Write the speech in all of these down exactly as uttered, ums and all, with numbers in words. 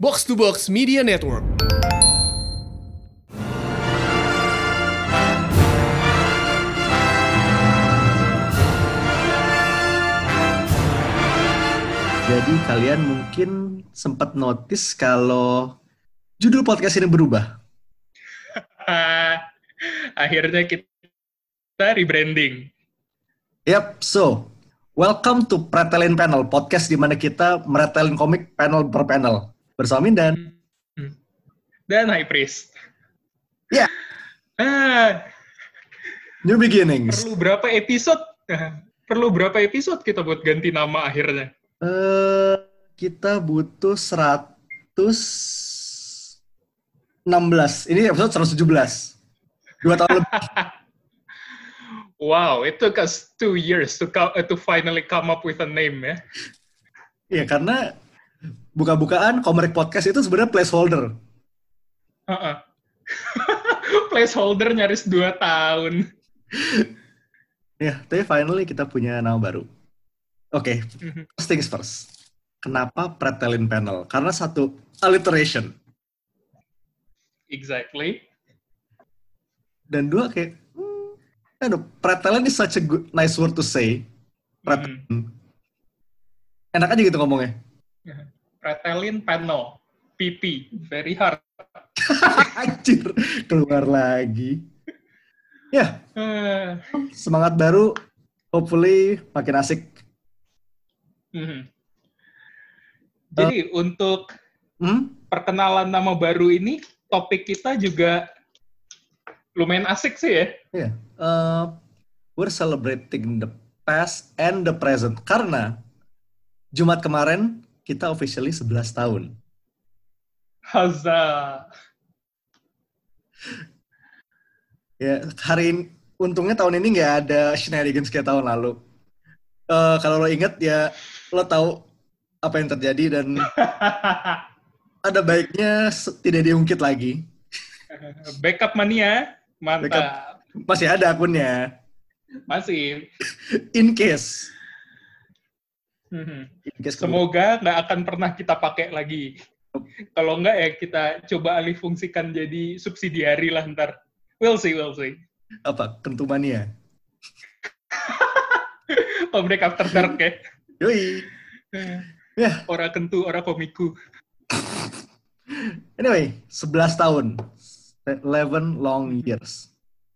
Box to Box Media Network. Jadi kalian mungkin sempat notice kalau judul podcast ini berubah. Akhirnya kita rebranding. Yap, so welcome to Pretelin Panel, podcast di mana kita meretelin komik panel per panel. Bersama Mindan. Dan High Priest. Ya. Yeah. Ah, New beginnings. Perlu berapa episode? Perlu berapa episode kita buat ganti nama akhirnya? Uh, kita butuh seratus enam belas. Ini episode seratus tujuh belas. Dua tahun lebih. Wow, it took us two years to co- to finally come up with a name ya. Iya, karena buka-bukaan Komrek Podcast itu sebenarnya placeholder. Uh-uh. Placeholder nyaris dua tahun. Ya, tapi finally kita punya nama baru. Oke, okay. First things first. Kenapa Pretelin Panel? Karena satu, alliteration. Exactly. Dan dua, kayak, hmm, aduh, Pretelin is such a good, nice word to say. Pretelin. Mm. Enak aja gitu ngomongnya. Pretelin Panel. P P. Very hard. Anjir, keluar lagi. Ya, yeah. uh. Semangat baru. Hopefully makin asik. Hmm. Jadi uh, untuk hmm? perkenalan nama baru ini, topik kita juga lumayan asik sih ya. Yeah. Uh, we're celebrating the past and the present. Karena Jumat kemarin kita officially sebelas tahun. Huzzah. Ya, hari ini, untungnya tahun ini nggak ada shenanigans kayak tahun lalu. Uh, kalau lo inget ya, lo tahu apa yang terjadi dan ada baiknya tidak diungkit lagi. Backup mania, mantap. Backup. Masih ada akunnya. Masih. In case. In case semoga nggak akan pernah kita pakai lagi. Kalau nggak ya kita coba alih fungsikan jadi subsidiari lah ntar. We'll see, we'll see. Apa? Kentumania? Komrek After Dark ya? Yoi. Yeah. Ora kentu, ora komiku. Anyway, sebelas tahun. eleven long years.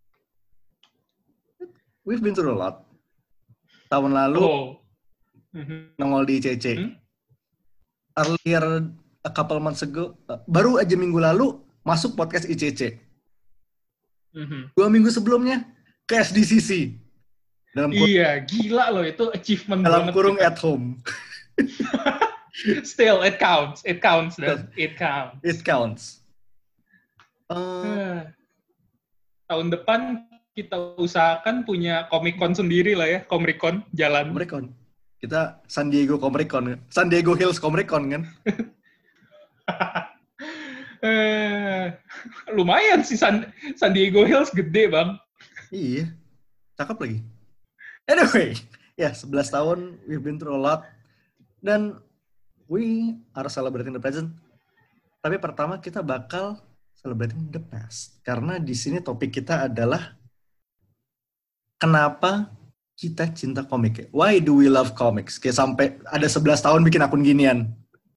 We've been through a lot. Tahun lalu, oh. nongol di I C C. Hmm? Earlier, a couple months ago, baru aja minggu lalu, masuk podcast I C C. Mm-hmm. Dua minggu sebelumnya, ke S D C C. Dalam kurung, iya, gila loh itu achievement dalam banget. Dalam kurung kita. At home. Still, it counts. It counts, dan it counts. It counts. Uh, Tahun depan kita usahakan punya Comic-Con sendiri lah ya, Comic-Con jalan. Comic-Con. Kita San Diego Comic-Con, San Diego Hills Comic-Con kan? uh, lumayan sih San, San Diego Hills gede bang. Iya, cakep lagi. Anyway, ya yeah, sebelas tahun, we've been through a lot. Dan we are celebrating the present. Tapi pertama kita bakal celebrating the past. Karena di sini topik kita adalah kenapa kita cinta komik. Why do we love comics? Kayak sampai ada sebelas tahun bikin akun ginian.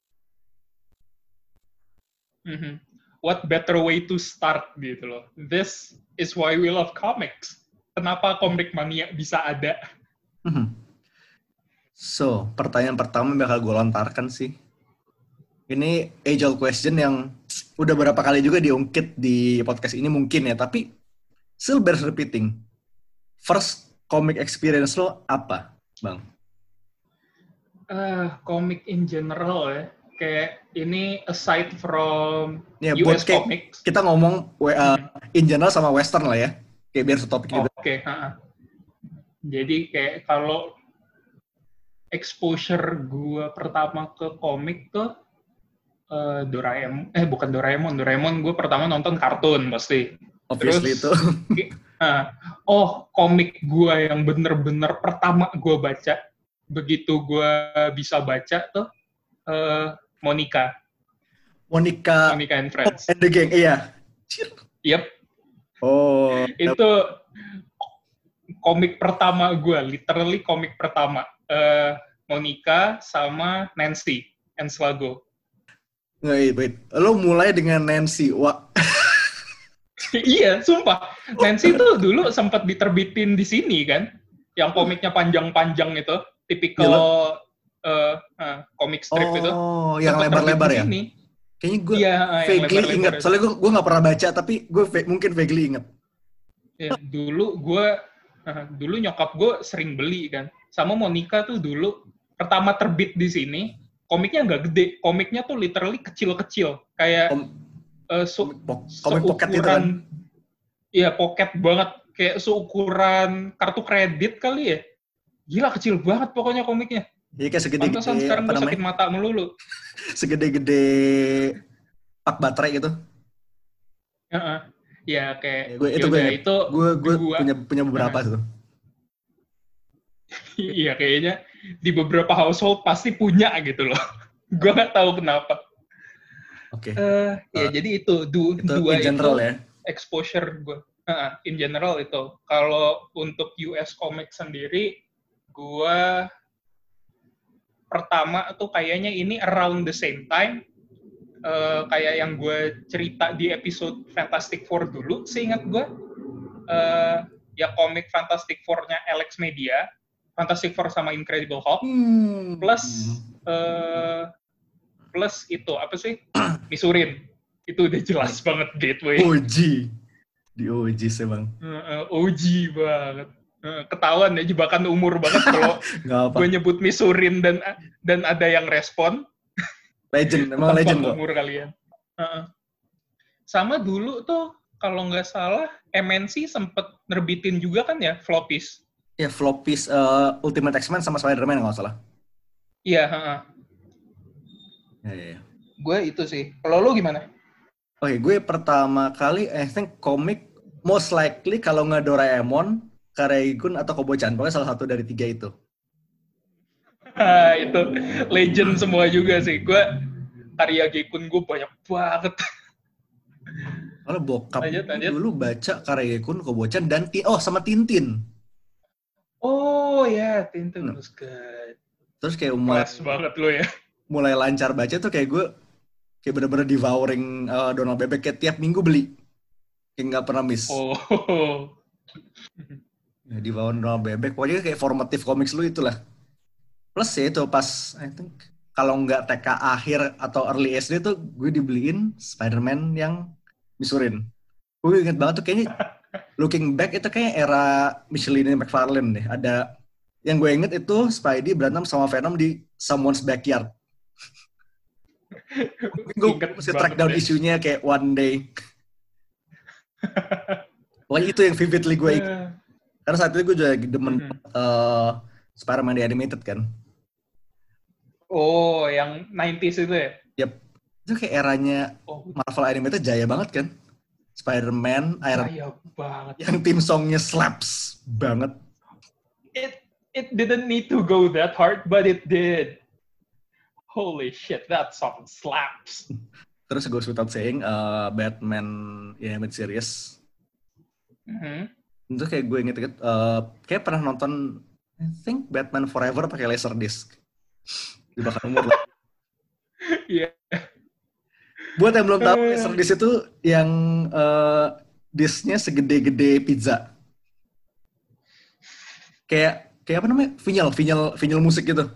Mm-hmm. What better way to start gitu loh. This is why we love comics. Kenapa Komrek Mania bisa ada? Mm-hmm. So, pertanyaan pertama yang bakal gue lontarkan sih. Ini age-old question yang udah berapa kali juga diungkit di podcast ini mungkin ya, tapi still bears repeating. First comic experience lo apa, Bang? Uh, comic in general ya. Kayak ini aside from ya, U S kayak, comics. Kita ngomong uh, in general sama western lah ya. Kayak biar setopik oh, juga. Oke, okay. Jadi kayak kalau exposure gue pertama ke komik tuh uh, Doraemon, eh bukan Doraemon, Doraemon gue pertama nonton kartun pasti. Obviously itu. uh, oh komik gue yang bener-bener pertama gue baca, begitu gue bisa baca tuh uh, Monica. Monica, Monica and Friends. And the Gang, iya. Yep. Oh. Itu komik pertama gue, literally komik pertama. Uh, Monica sama Nancy Enslago. Wait, wait. Lo mulai dengan Nancy. Wah. Iya, sumpah. Nancy tuh dulu sempat diterbitin di sini kan. Yang komiknya panjang-panjang itu. Tipikal uh, uh, komik strip oh, itu. Oh, yang lebar-lebar ya? Sini. Kayaknya gue ya, vaguely inget. Soalnya gue gue nggak pernah baca, tapi gue va- mungkin vaguely inget. Ya, dulu gue, uh, dulu nyokap gue sering beli kan. Sama Monica tuh dulu pertama terbit di sini. Komiknya nggak gede. Komiknya tuh literally kecil-kecil. Kayak Kom- uh, su- komik pocket itu kan? Iya, pocket banget. Kayak seukuran kartu kredit kali ya. Gila, kecil banget pokoknya komiknya. Iya, kayak segede-gede. Pantesan sekarang gue sakit mata melulu. Segede-gede pak baterai gitu. Uh-uh. Ya, kayak... Ya, gue, itu gue, itu gue, gue punya, punya beberapa uh-huh. tuh. Iya, kayaknya di beberapa household pasti punya gitu loh. Gue nggak tahu kenapa. Oke. Okay. Uh, ya, uh, jadi itu. Du, itu dua in general itu ya? Exposure gue. Uh, in general itu. Kalau untuk U S comic sendiri, gue pertama tuh kayaknya ini around the same time. Uh, kayak yang gue cerita di episode Fantastic Four dulu, seingat gue. Uh, ya komik Fantastic Four-nya Alex Media. Fantastic Four sama Incredible Hulk. Hmm. Plus, uh, plus itu, apa sih? Misurin. Itu udah jelas banget gateway. O G. Di O G sih bang. Uh, O G banget. Uh, ketahuan ya, jebakan umur banget kalau gue nyebut Misurin dan dan ada yang respon. Legend, emang legend kok. Umur kalian. Uh-uh. Sama dulu tuh, kalau nggak salah, M N C sempet nerbitin juga kan ya, Floppies. Ya, Floppies uh, Ultimate X-Men sama Spider-Man nggak salah. Iya, uh-uh. Ya, ya, ya. Gue itu sih. Kalau lo gimana? Oke, okay, gue pertama kali, I think komik, most likely kalau nggak Doraemon, Kareikun, atau Kobo-chan. Pokoknya salah satu dari tiga itu. Itu legend semua juga sih. Gue karya Gekun gue banyak banget. Kalau bokap lanjut, lanjut. dulu baca Kareikun, Kobo-chan, dan oh sama Tintin. Oh ya, yeah. Tintin was good. Terus kayak mulai banget lo ya. Mulai lancar baca tuh kayak gue kayak bener-bener devouring uh, Donald Bebek, kayak tiap minggu beli. Kayak nggak pernah miss. Oh. Ya, devouring Donald Bebek. Pokoknya kayak formative comics lu itulah. Plus ya itu pas, I think, kalau nggak T K akhir atau early S D tuh gue dibeliin Spider-Man yang Misurin. Gue inget banget tuh kayaknya, looking back itu kayak era Michelin McFarlane deh. Ada, yang gue inget itu Spidey berantem sama Venom di Someone's Backyard. Mungkin gue mesti track down ya. Isunya kayak one day. Pokoknya itu yang vividly gue inget. Karena saat itu gue juga demen mm-hmm. uh, Spider-Man The Animated kan. Oh, yang nineties itu ya? Yep. Itu kayak eranya oh. Marvel Animated jaya banget kan. Spider-Man, Iron jaya banget. Yang tim songnya slaps banget. It it didn't need to go that hard, but it did. Holy shit, that song slaps. Terus gue without saying, uh, Batman Animated Series. Mm-hmm. Itu kayak gue inget-inget, uh, kayak pernah nonton, I think Batman Forever pakai Laserdisc. Di bakal umur lah. Iya. Buat yang belum tahu, Laserdisc itu yang uh, disknya segede-gede pizza. Kayak, kayak apa namanya? Vinyl, vinyl, vinyl musik gitu.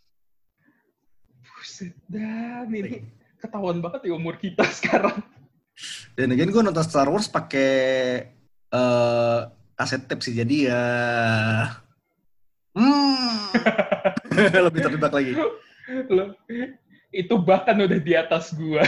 Buset, dan ini ketahuan banget di umur kita sekarang. Dan again gue nonton Star Wars pakai uh, kaset tape sih, jadi ya hmm. lebih terjebak lagi. Loh, itu bahkan udah di atas gua.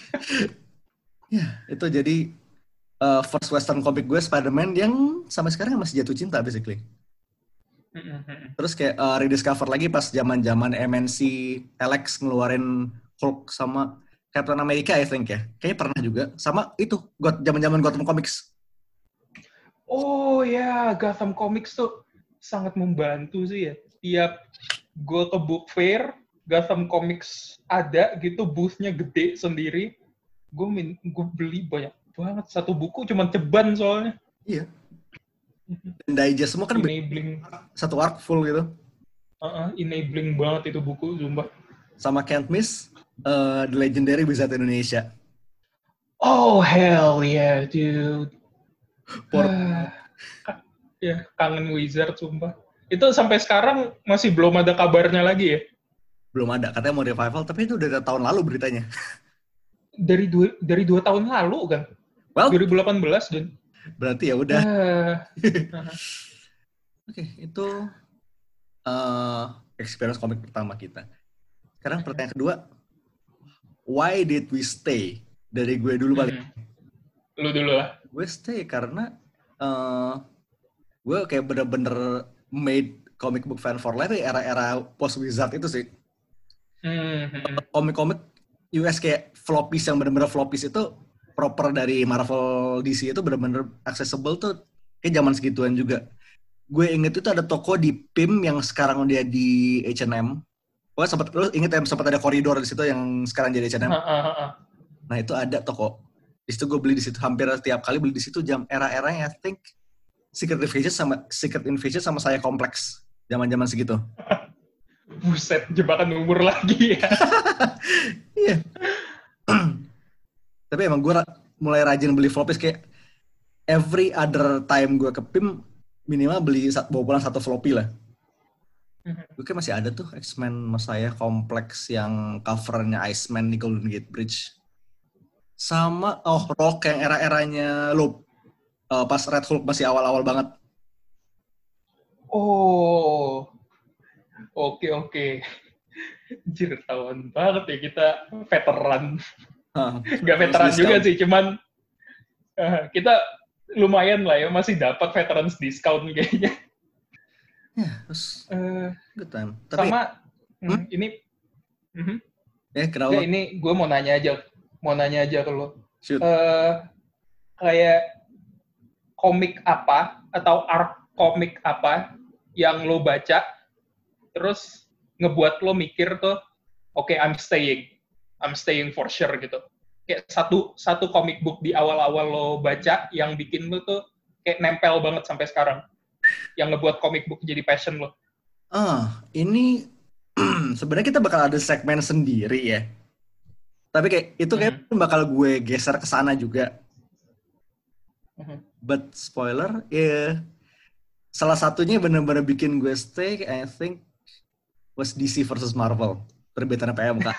Ya, itu jadi uh, first western comic gue Spider-Man yang sampai sekarang masih jatuh cinta basically. Terus kayak uh, rediscover lagi pas zaman-zaman M N C Alex ngeluarin Hulk sama Captain America I think ya. Kayaknya pernah juga. Sama itu zaman-zaman Gotham Comics. Oh ya, Gotham Comics tuh sangat membantu sih ya. Tiap gue ke book fair, Gotham Comics ada gitu, booth-nya gede sendiri. Gue min, gue beli banyak banget, satu buku cuma ceban soalnya. Iya. Dan digest semua kan enabling satu arc full gitu. Uh-uh, enabling banget itu buku, sumpah. Sama Can't Miss, uh, The Legendary Wizard Indonesia. Oh hell yeah, dude. Por- Ah, ya kangen Wizard, sumpah. Itu sampai sekarang masih belum ada kabarnya lagi ya? Belum ada, katanya mau revival, tapi itu udah tahun lalu beritanya. Dari dua, dari dua tahun lalu kan? Well, dua ribu delapan belas, dan berarti ya udah. Uh, Oke, okay, itu uh, experience komik pertama kita. Sekarang pertanyaan kedua, why did we stay? Dari gue dulu paling. Hmm. Lu dulu lah. Gue stay karena uh, gue kayak bener-bener made comic book fan for life ya, era-era post Wizard itu sih. Hmm. Komik-komik U S kayak floppies yang bener-bener floppies itu proper dari Marvel D C itu bener-bener accessible tuh kayak zaman segituan juga. Gue inget itu ada toko di P I M yang sekarang dia di H and M. Pokoknya sempat, lu inget ya sempat ada koridor di situ yang sekarang jadi H and M. Ha, ha, ha. Nah itu ada toko. Di situ gue beli di situ hampir setiap kali beli di situ jam era-eranya I think Secret Invasion sama Secret Invasion sama saya kompleks zaman-zaman segitu. Buset, jebakan umur lagi ya. Iya. Tapi emang gue ra- mulai rajin beli floppies kayak every other time gue ke P I M minimal beli bawa pulang satu floppy lah. Gue kayak masih ada tuh X-Men Messiah kompleks yang covernya Iceman di Golden Gate Bridge. Sama oh Rock yang era-eranya Loop. Uh, pas Red Hulk masih awal-awal banget. Oh. Oke, oke. Anjir, tahun banget ya kita veteran. Huh. Gak veteran juga sih, cuman uh, kita lumayan lah ya, masih dapat veterans discount kayaknya. Ya, terus Uh, good time. Tapi, sama, hmm? hmm? ini, uh-huh. ya kenapa? Nggak, ini gue mau nanya aja, mau nanya aja ke lo. Shoot. Uh, kayak komik apa atau arc komik apa yang lo baca, terus ngebuat lo mikir tuh, oke, okay, I'm staying, I'm staying for sure gitu. Kayak satu satu comic book di awal-awal lo baca yang bikin lo tuh kayak nempel banget sampai sekarang, yang ngebuat comic book jadi passion lo. Ah, ini sebenarnya kita bakal ada segmen sendiri ya. Tapi kayak itu kayak mm-hmm. bakal gue geser ke sana juga. Mm-hmm. But spoiler, ya yeah, salah satunya benar-benar bikin gue stay, I think was D C versus Marvel, terbitan P M K.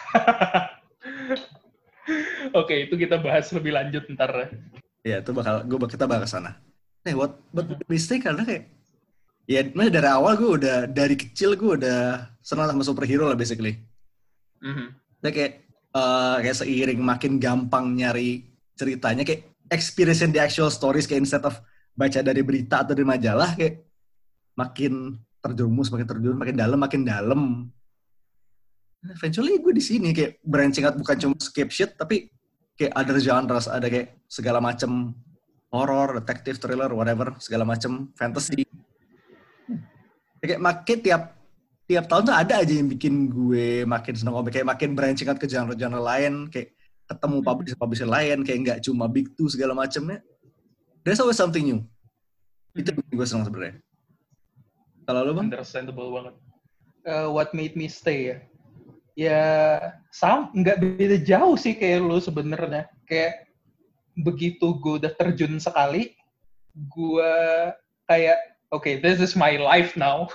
Oke, itu kita bahas lebih lanjut ntar. Ya, itu bakal gue kita bakal ke sana. Eh, what but mm-hmm. mistake karena kayak ya, dari awal gue udah dari kecil gue udah senang sama superhero lah basically. Mm-hmm. Jadi kayak uh, kayak seiring makin gampang nyari ceritanya kayak experience the actual stories kayak instead of baca dari berita atau dari majalah kayak makin terjerumus, makin terjerumus, makin dalam, makin dalam. Eventually gue di sini kayak branching out bukan cuma escape shit tapi kayak other genres, ada kayak segala macam horror, detective, thriller, whatever, segala macam fantasy. Kayak makin tiap tiap tahun tuh ada aja yang bikin gue makin seneng komik, kayak makin branching out ke genre-genre lain, kayak ketemu publisher-publisher lain, kayak nggak cuma big two segala macamnya. There's always something new. Itu yang gue seneng sebenarnya. Kalau lo bang? Understandable banget. Uh, what made me stay ya? Ya sam, nggak beda jauh sih kayak lo sebenarnya. Kayak begitu gue udah terjun sekali, gue kayak oke, okay, this is my life now.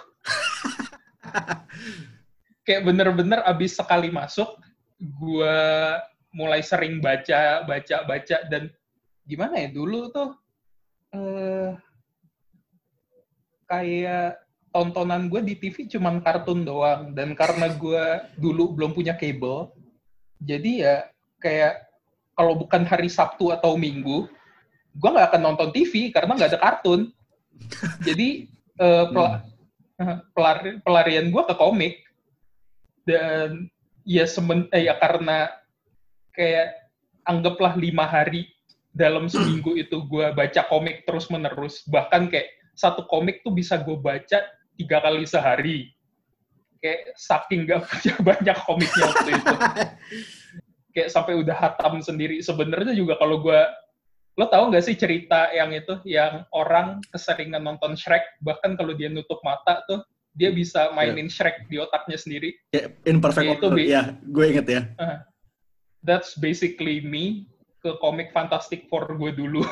Kayak bener-bener abis sekali masuk, gue mulai sering baca, baca, baca, dan gimana ya, dulu tuh uh, kayak tontonan gue di T V cuman kartun doang, dan karena gue dulu belum punya kabel, jadi ya kayak kalau bukan hari Sabtu atau Minggu, gue nggak akan nonton T V karena nggak ada kartun. Jadi uh, pel- pelari- pelarian gue ke komik, dan ya semen eh, ya karena kayak anggaplah lima hari dalam seminggu itu gue baca komik terus menerus, bahkan kayak satu komik tuh bisa gue baca tiga kali sehari, kayak saking gak punya banyak komiknya waktu itu. Kayak sampai udah hatam sendiri. Sebenarnya juga kalau gue, lo tau gak sih cerita yang itu, yang orang keseringan nonton Shrek, bahkan kalau dia nutup mata tuh, dia bisa mainin yeah. Shrek di otaknya sendiri. Kayak in perfect order, ya, gue inget ya. Uh, that's basically me ke komik Fantastic Four gue dulu.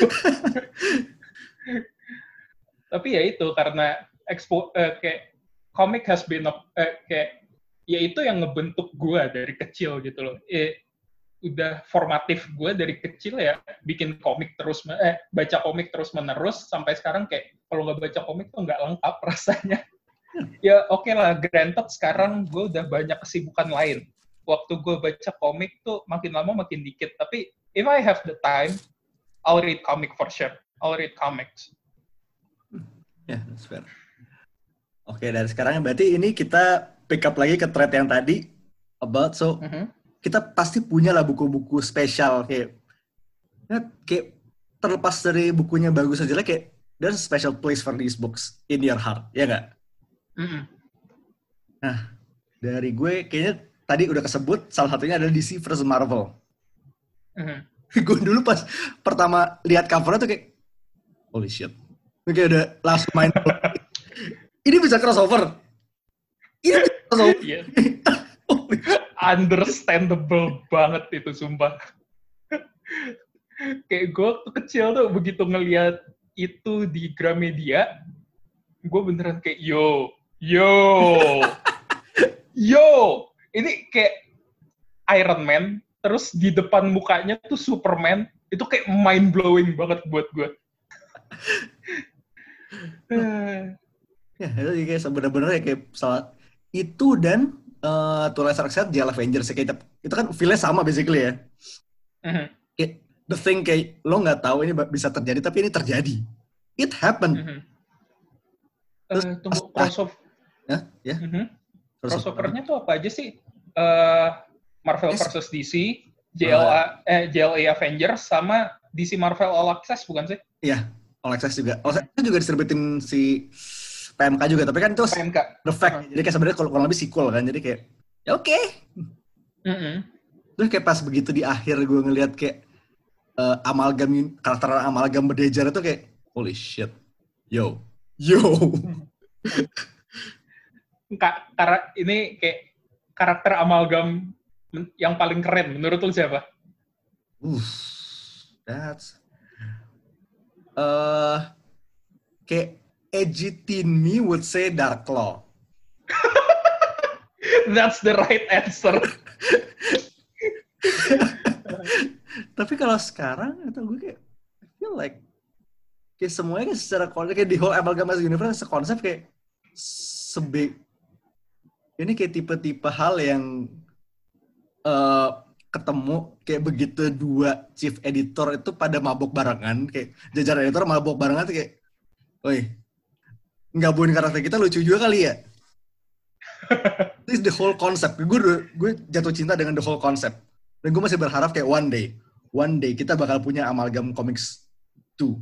Tapi ya itu, karena expo, uh, kayak komik has been, uh, kayak, ya itu yang ngebentuk gue dari kecil gitu loh. Eh, udah formatif gue dari kecil ya, bikin komik terus, eh, baca komik terus menerus, sampai sekarang kayak, kalau nggak baca komik tuh nggak lengkap rasanya. Ya oke okay lah, granted sekarang gue udah banyak kesibukan lain. Waktu gue baca komik tuh makin lama makin dikit. Tapi if I have the time, I'll read comic for sure. I'll read comics. Ya, yeah, that's fair. Oke, okay, dari sekarang berarti ini kita pick up lagi ke thread yang tadi about, so mm-hmm. kita pasti punya lah buku-buku spesial kayak, ya, kayak terlepas dari bukunya bagus aja lah, kayak there's a special place for these books in your heart, ya nggak? Mm-hmm. Nah, dari gue kayaknya tadi udah kesebut salah satunya adalah D C versus Marvel. Mm-hmm. Gue dulu pas pertama lihat covernya tuh kayak, holy shit, kayak udah langsung main. Ini bisa crossover. Ini bisa crossover. Yeah. Understandable banget itu, sumpah. Kayak gue waktu kecil tuh begitu ngelihat itu di Gramedia, gue beneran kayak, yo, yo, yo. Ini kayak Iron Man, terus di depan mukanya tuh Superman. Itu kayak mind-blowing banget buat gue. Ya, itu kayak sebenarnya kayak salah itu dan uh, Twilight Set Jail Avengers kayak itu kan feel-nya sama basically ya. Mm-hmm. Kayak the thing kayak lo nggak tahu ini bisa terjadi tapi ini terjadi. It happened. Mm-hmm. Terus uh, tunggu crossover. Ya, ya. Mm-hmm. Crossover-nya tuh apa aja sih? Uh, Marvel yes. versus D C, J L A, uh, eh, J L A Avengers sama D C Marvel All Access bukan sih? Iya, All Access juga. All Access juga distributin si P M K juga, tapi kan itu P M K. The Fact. Uh-huh. Jadi kayak sebenarnya kalau lebih sequel kan, jadi kayak ya oke. Okay. Mm-hmm. Terus kayak pas begitu di akhir gue ngelihat kayak uh, amalgam karakter amalgam berdejar itu kayak holy shit, yo, yo. Kak, karena ini kayak karakter amalgam yang paling keren menurut lu siapa? Uh, that's uh, kayak edgy teen me would say Darklaw. That's the right answer. Tapi kalau sekarang atau gue kayak I feel like kayak semuanya kayak secara konsep kayak di whole Amalgamation Universe sekonsep kayak sebe ini kayak tipe-tipe hal yang uh, ketemu kayak begitu dua chief editor itu pada mabok barengan kayak jajaran editor mabok barengan tuh kayak, oi nggabuin karakter kita lucu juga kali ya. This is the whole concept. Gue gue jatuh cinta dengan the whole concept. Dan gue masih berharap kayak one day, one day kita bakal punya Amalgam Comics two.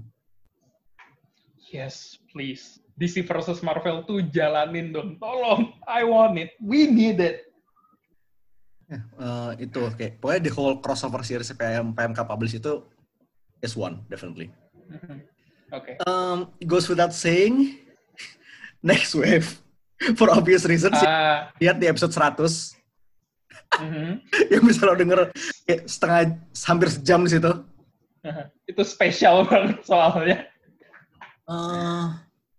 Yes, please. D C versus Marvel tuh jalanin dong. Tolong, I want it. We need it. Ya, uh, itu kayak pokoknya the whole crossover series P M, P M K publish itu is one, definitely. Mm-hmm. Oke. Okay. Um, goes without saying, next wave. For obvious reasons, uh, lihat di episode seratus. Uh-huh. Yang bisa lo denger kayak setengah, hampir sejam di situ. Uh-huh. Itu spesial banget soalnya. Uh,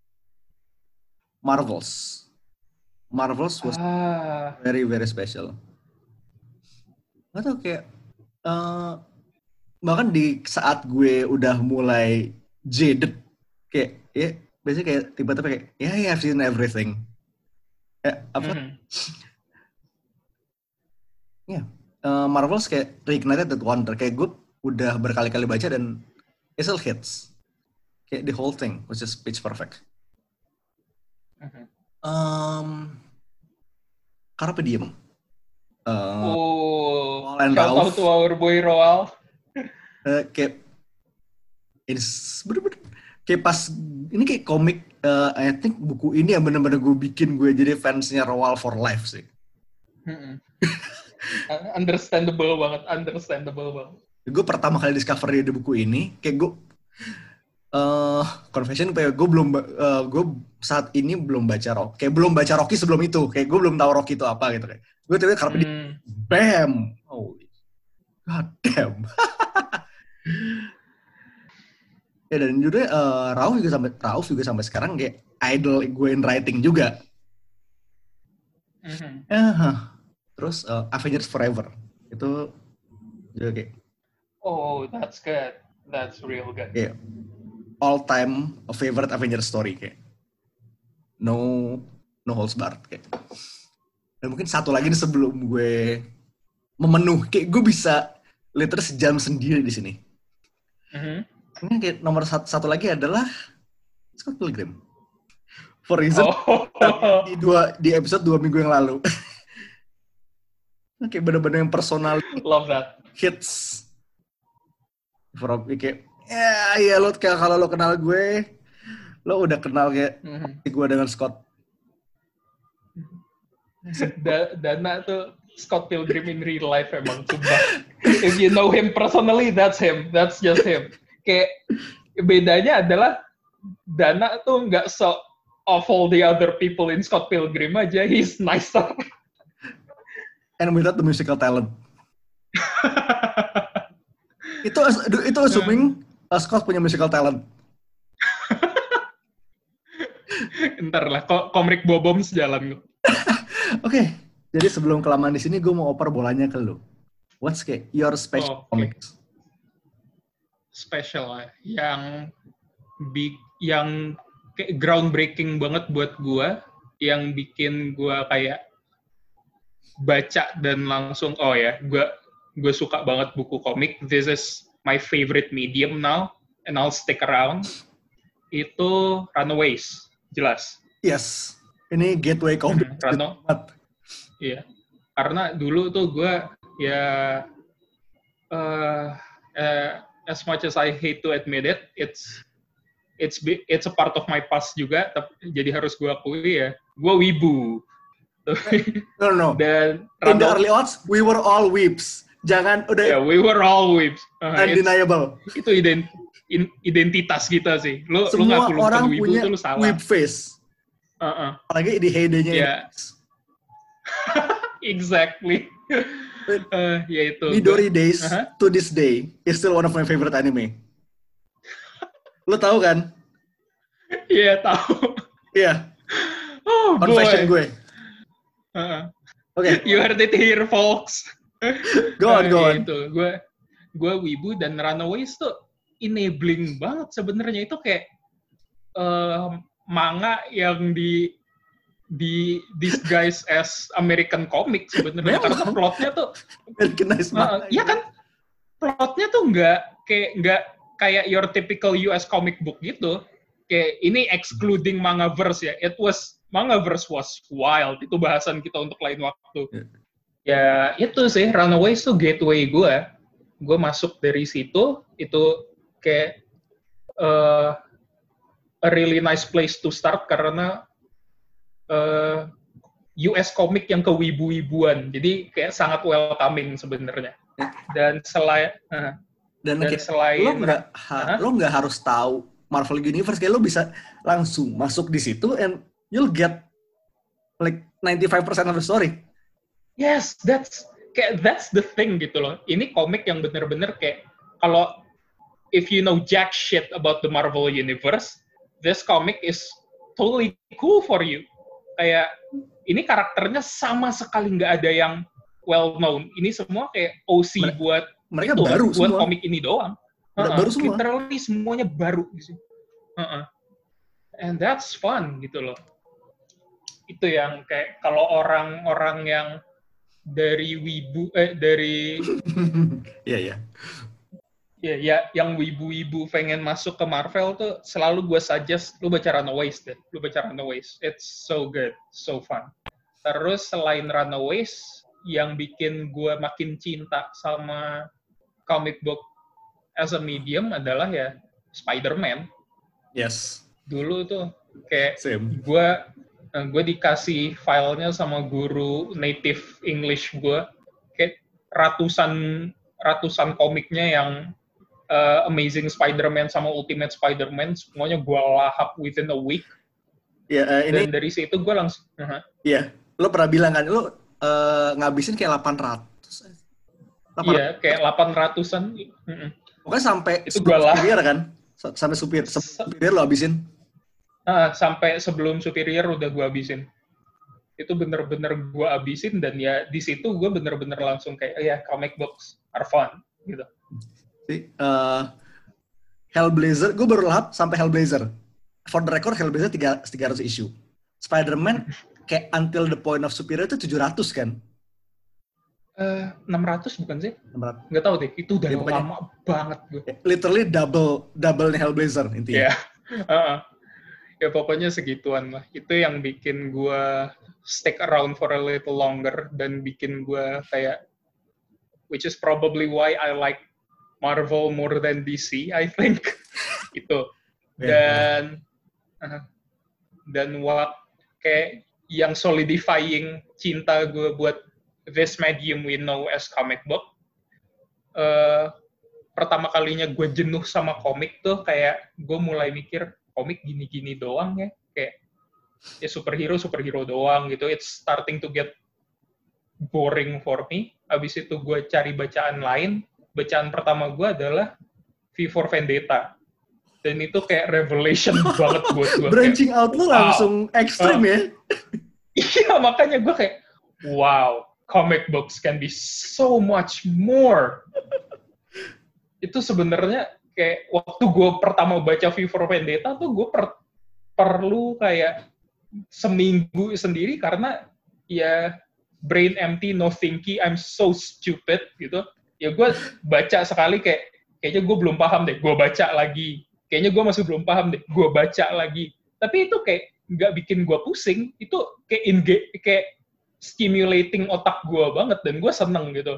Marvels. Marvels was uh. very, very special. Gak tau kayak, uh, bahkan di saat gue udah mulai jaded, kayak, ya, biasanya kayak tiba-tiba kayak, ya, yeah, I've seen everything. Ya, apa? Mm-hmm. Ya, yeah. uh, Marvels kayak reignited that wonder. Kayak gue udah berkali-kali baca dan it still hits. Kayak the whole thing was just pitch perfect. Mm-hmm. Um, Carpe Diem. Uh, oh, shout out to our boy Roald. uh, kayak it's bener-bener kayak pas ini kayak komik, uh, I think buku ini yang bener-bener gue bikin gue jadi fansnya Roald for life sih. Mm-mm. Understandable banget, understandable banget. Gue pertama kali discover di buku ini, kayak gue uh, confession, kayak gue belum, uh, gue saat ini belum baca Rocky, kayak belum baca Rocky sebelum itu, kayak gue belum tahu Rocky itu apa gitu kayak. Gue tiba-tiba karena Hmm. di bam, oh god damn. Ya dan juga uh, Rauf juga sampai Rauf juga sampai sekarang kayak idol gue in writing juga. Mm-hmm. Uh, terus uh, Avengers Forever itu juga kayak. Oh, that's good. That's real good. Kayak all time favorite Avengers story kayak. No no holds barred kayak. Dan mungkin satu lagi nih sebelum gue memenuhi, kayak gue bisa liter sejam sendiri di sini. Mm-hmm. Ini kayak nomor satu, satu lagi adalah Scott Pilgrim. For reason Oh. di dua di episode dua minggu yang lalu. Kayak bener-bener yang personal. Love that. Hits. For kayak ya ya lo kayak kalau lo kenal gue, lo udah kenal kayak Mm-hmm. gue dengan Scott. Da- Dana tuh Scott Pilgrim in real life emang sumpah. If you know him personally, that's him. That's just him. Kayak bedanya adalah Dana tuh nggak so of all the other people in Scott Pilgrim aja, he's nicer. And without the musical talent. itu itu assuming uh, Scott punya musical talent. Ntar lah, kok komik Bobom sejalan. Oke, okay, jadi sebelum kelamaan di sini, gue mau oper bolanya ke lu. What's kayak your special Oh, okay. comics? Special lah, yang big, yang kayak groundbreaking banget buat gue, yang bikin gue kayak baca dan langsung, oh ya, gue gue suka banget buku komik. This is my favorite medium now, and I'll stick around. Itu Runaways, jelas. Yes. Ini gateway komik. Hmm, Rano. Iya. Karena dulu tuh gue ya uh, uh, as much as I hate to admit it, it's it's it's a part of my past juga. Tapi jadi harus gue akui ya, gue wibu. No no. Dan in the early odds, we were all weebs. Jangan udah. Yeah, we were all weebs. Uh, undeniable. Itu ident, in, identitas kita sih. Lu semua lu orang wibu, punya tuh lu salah. weeb face. Uh-uh. Apalagi di heyday-nya. Yeah. Exactly. uh, ya itu. Midori Days uh-huh. to this day is still one of my favorite anime. Lo tahu kan? Iya, yeah, tahu. Iya. Yeah. Oh, confession gue. Uh-huh. Oke. Okay. You heard it here, folks. Go on, go on. Uh, itu, gue gue wibu dan Runaways tuh enabling banget sebenarnya. Itu kayak uh, manga yang di di disguise as American comic sebenarnya, karena plotnya tuh Americanized uh, iya kan, plotnya tuh nggak kayak nggak kayak your typical U S comic book gitu. Kayak ini excluding Mangaverse ya. It was Mangaverse was wild. Itu bahasan kita untuk lain waktu. Yeah. Ya itu sih, Runaways tuh gateway gue. Gue masuk dari situ, itu kayak uh, a really nice place to start karena uh, U S komik yang kewibu-wibuan, jadi kayak sangat welcoming sebenarnya. Dan selain uh, dan, dan kayak, selain lo nggak ha- lo nggak harus tahu Marvel Universe, kayak lo bisa langsung masuk di situ and you'll get like ninety-five percent of the story. Yes, that's kayak that's the thing gitu loh. Ini komik yang bener-bener kayak kalau if you know jack shit about the Marvel Universe, this comic is totally cool for you. Kayak ini karakternya sama sekali nggak ada yang well known. Ini semua kayak O C mereka, buat mereka itu, baru buat semua. komik ini doang. Uh-uh, baru semua. Literally semuanya baru gitu. Uh-uh. And that's fun gitu loh. Itu yang kayak kalau orang-orang yang dari wibu eh dari Iya ya. Ya, ya, yang wibu-wibu pengen masuk ke Marvel tuh selalu gue suggest lu baca Runaways deh. Lu baca Runaways. It's so good, so fun. Terus selain Runaways, yang bikin gue makin cinta sama comic book as a medium adalah ya Spider-Man. Yes. Dulu tuh kayak Same. gue gue dikasih filenya sama guru native English gue, kayak ratusan ratusan komiknya yang uh, Amazing Spider-Man sama Ultimate Spider-Man, semuanya gue lahap within a week. Ya, uh, ini. Dan dari situ gue langsung. Uh-huh. Iya, lo pernah bilang kan, lo uh, ngabisin kayak delapan ratus. Iya, kayak delapan ratusan. Uh-uh. Pokoknya sampai itu gue lah. Superior kan? Sampai superior, superior lo habisin? Uh, sampai sebelum Superior udah gue habisin. Itu bener-bener gue habisin, dan ya di situ gue bener-bener langsung kayak, ya yeah, comic books are fun, gitu. Si, uh, Hellblazer, gue baru lahap sampai Hellblazer. For the record, Hellblazer tiga ratus issue. Spider-Man kayak until the point of Superior itu tujuh ratus kan? Uh, enam ratus bukan sih? enam ratus. Nggak tahu deh, itu udah ya, pokoknya, lama banget gue. Literally double, double Hellblazer intinya. Yeah. uh-uh. Ya pokoknya segituan lah. Itu yang bikin gue stick around for a little longer, dan bikin gue kayak, which is probably why I like Marvel more than D C, I think. Itu. Dan yeah. uh, dan what kayak yang solidifying cinta gue buat this medium we know as comic book. Uh, pertama kalinya gue jenuh sama komik tuh kayak gue mulai mikir, komik gini-gini doang ya, kayak ya superhero superhero doang gitu. It's starting to get boring for me. Abis itu gue cari bacaan lain. Bacaan pertama gue adalah V for Vendetta, dan itu kayak revelation banget buat gue. Branching kayak, out lu wow. langsung ekstrim uh, ya. Iya, makanya gue kayak, wow, comic books can be so much more. Itu sebenarnya kayak waktu gue pertama baca V for Vendetta tuh gue per, perlu kayak seminggu sendiri, karena ya brain empty, no thinking, I'm so stupid gitu. Ya gue baca sekali kayak, kayaknya gue belum paham deh, gue baca lagi. Kayaknya gue masih belum paham deh, gue baca lagi. Tapi itu kayak nggak bikin gue pusing, itu kayak inge- kayak stimulating otak gue banget, dan gue seneng gitu.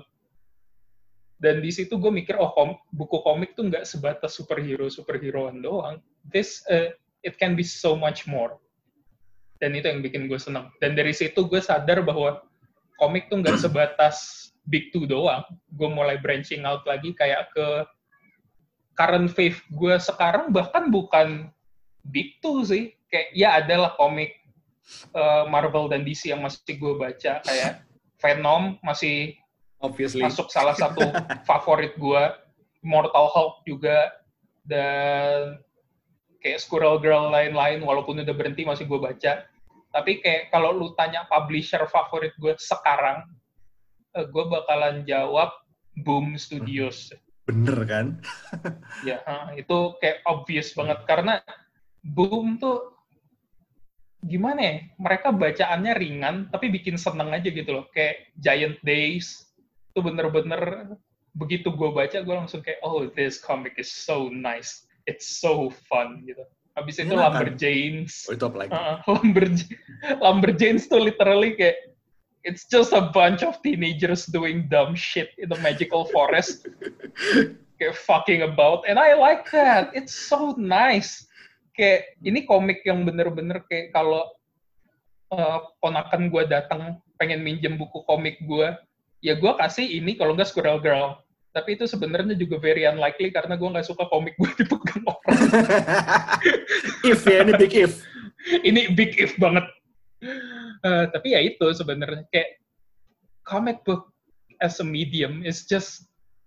Dan di situ gue mikir, oh kom- buku komik tuh nggak sebatas superhero-superheroan doang. This, uh, it can be so much more. Dan itu yang bikin gue seneng. Dan dari situ gue sadar bahwa komik tuh nggak sebatas big two doang. Gue mulai branching out lagi kayak ke current wave gue sekarang, bahkan bukan big two sih. Kayak ya adalah komik uh, Marvel dan D C yang masih gue baca, kayak Venom masih Obviously. masuk salah satu favorit gue, Immortal Hulk juga, dan kayak Squirrel Girl lain-lain, walaupun udah berhenti masih gue baca. Tapi kayak kalau lu tanya publisher favorit gue sekarang, uh, gue bakalan jawab Boom Studios. Bener kan? Ya, itu kayak obvious banget, karena Boom tuh gimana ya, mereka bacaannya ringan tapi bikin seneng aja gitu loh. Kayak Giant Days itu bener-bener begitu gue baca, gue langsung kayak, oh, this comic is so nice, it's so fun gitu. Habis itu ya, Lumberjanes, oh, itu apa lagi? uh, Lumberj- Lumberjanes tuh literally kayak, it's just a bunch of teenagers doing dumb shit in the magical forest, kayak fucking about, and I like that. It's so nice. Kayak ini komik yang bener-bener kayak kalau uh, ponakan gue datang pengen minjem buku komik gue, ya gue kasih ini, kalau nggak Squirrel Girl. Tapi itu sebenarnya juga very unlikely karena gue nggak suka komik gue dipegang orang. If ya, ini big if. Ini big if banget. Uh, tapi ya itu sebenarnya kayak comic book as a medium is just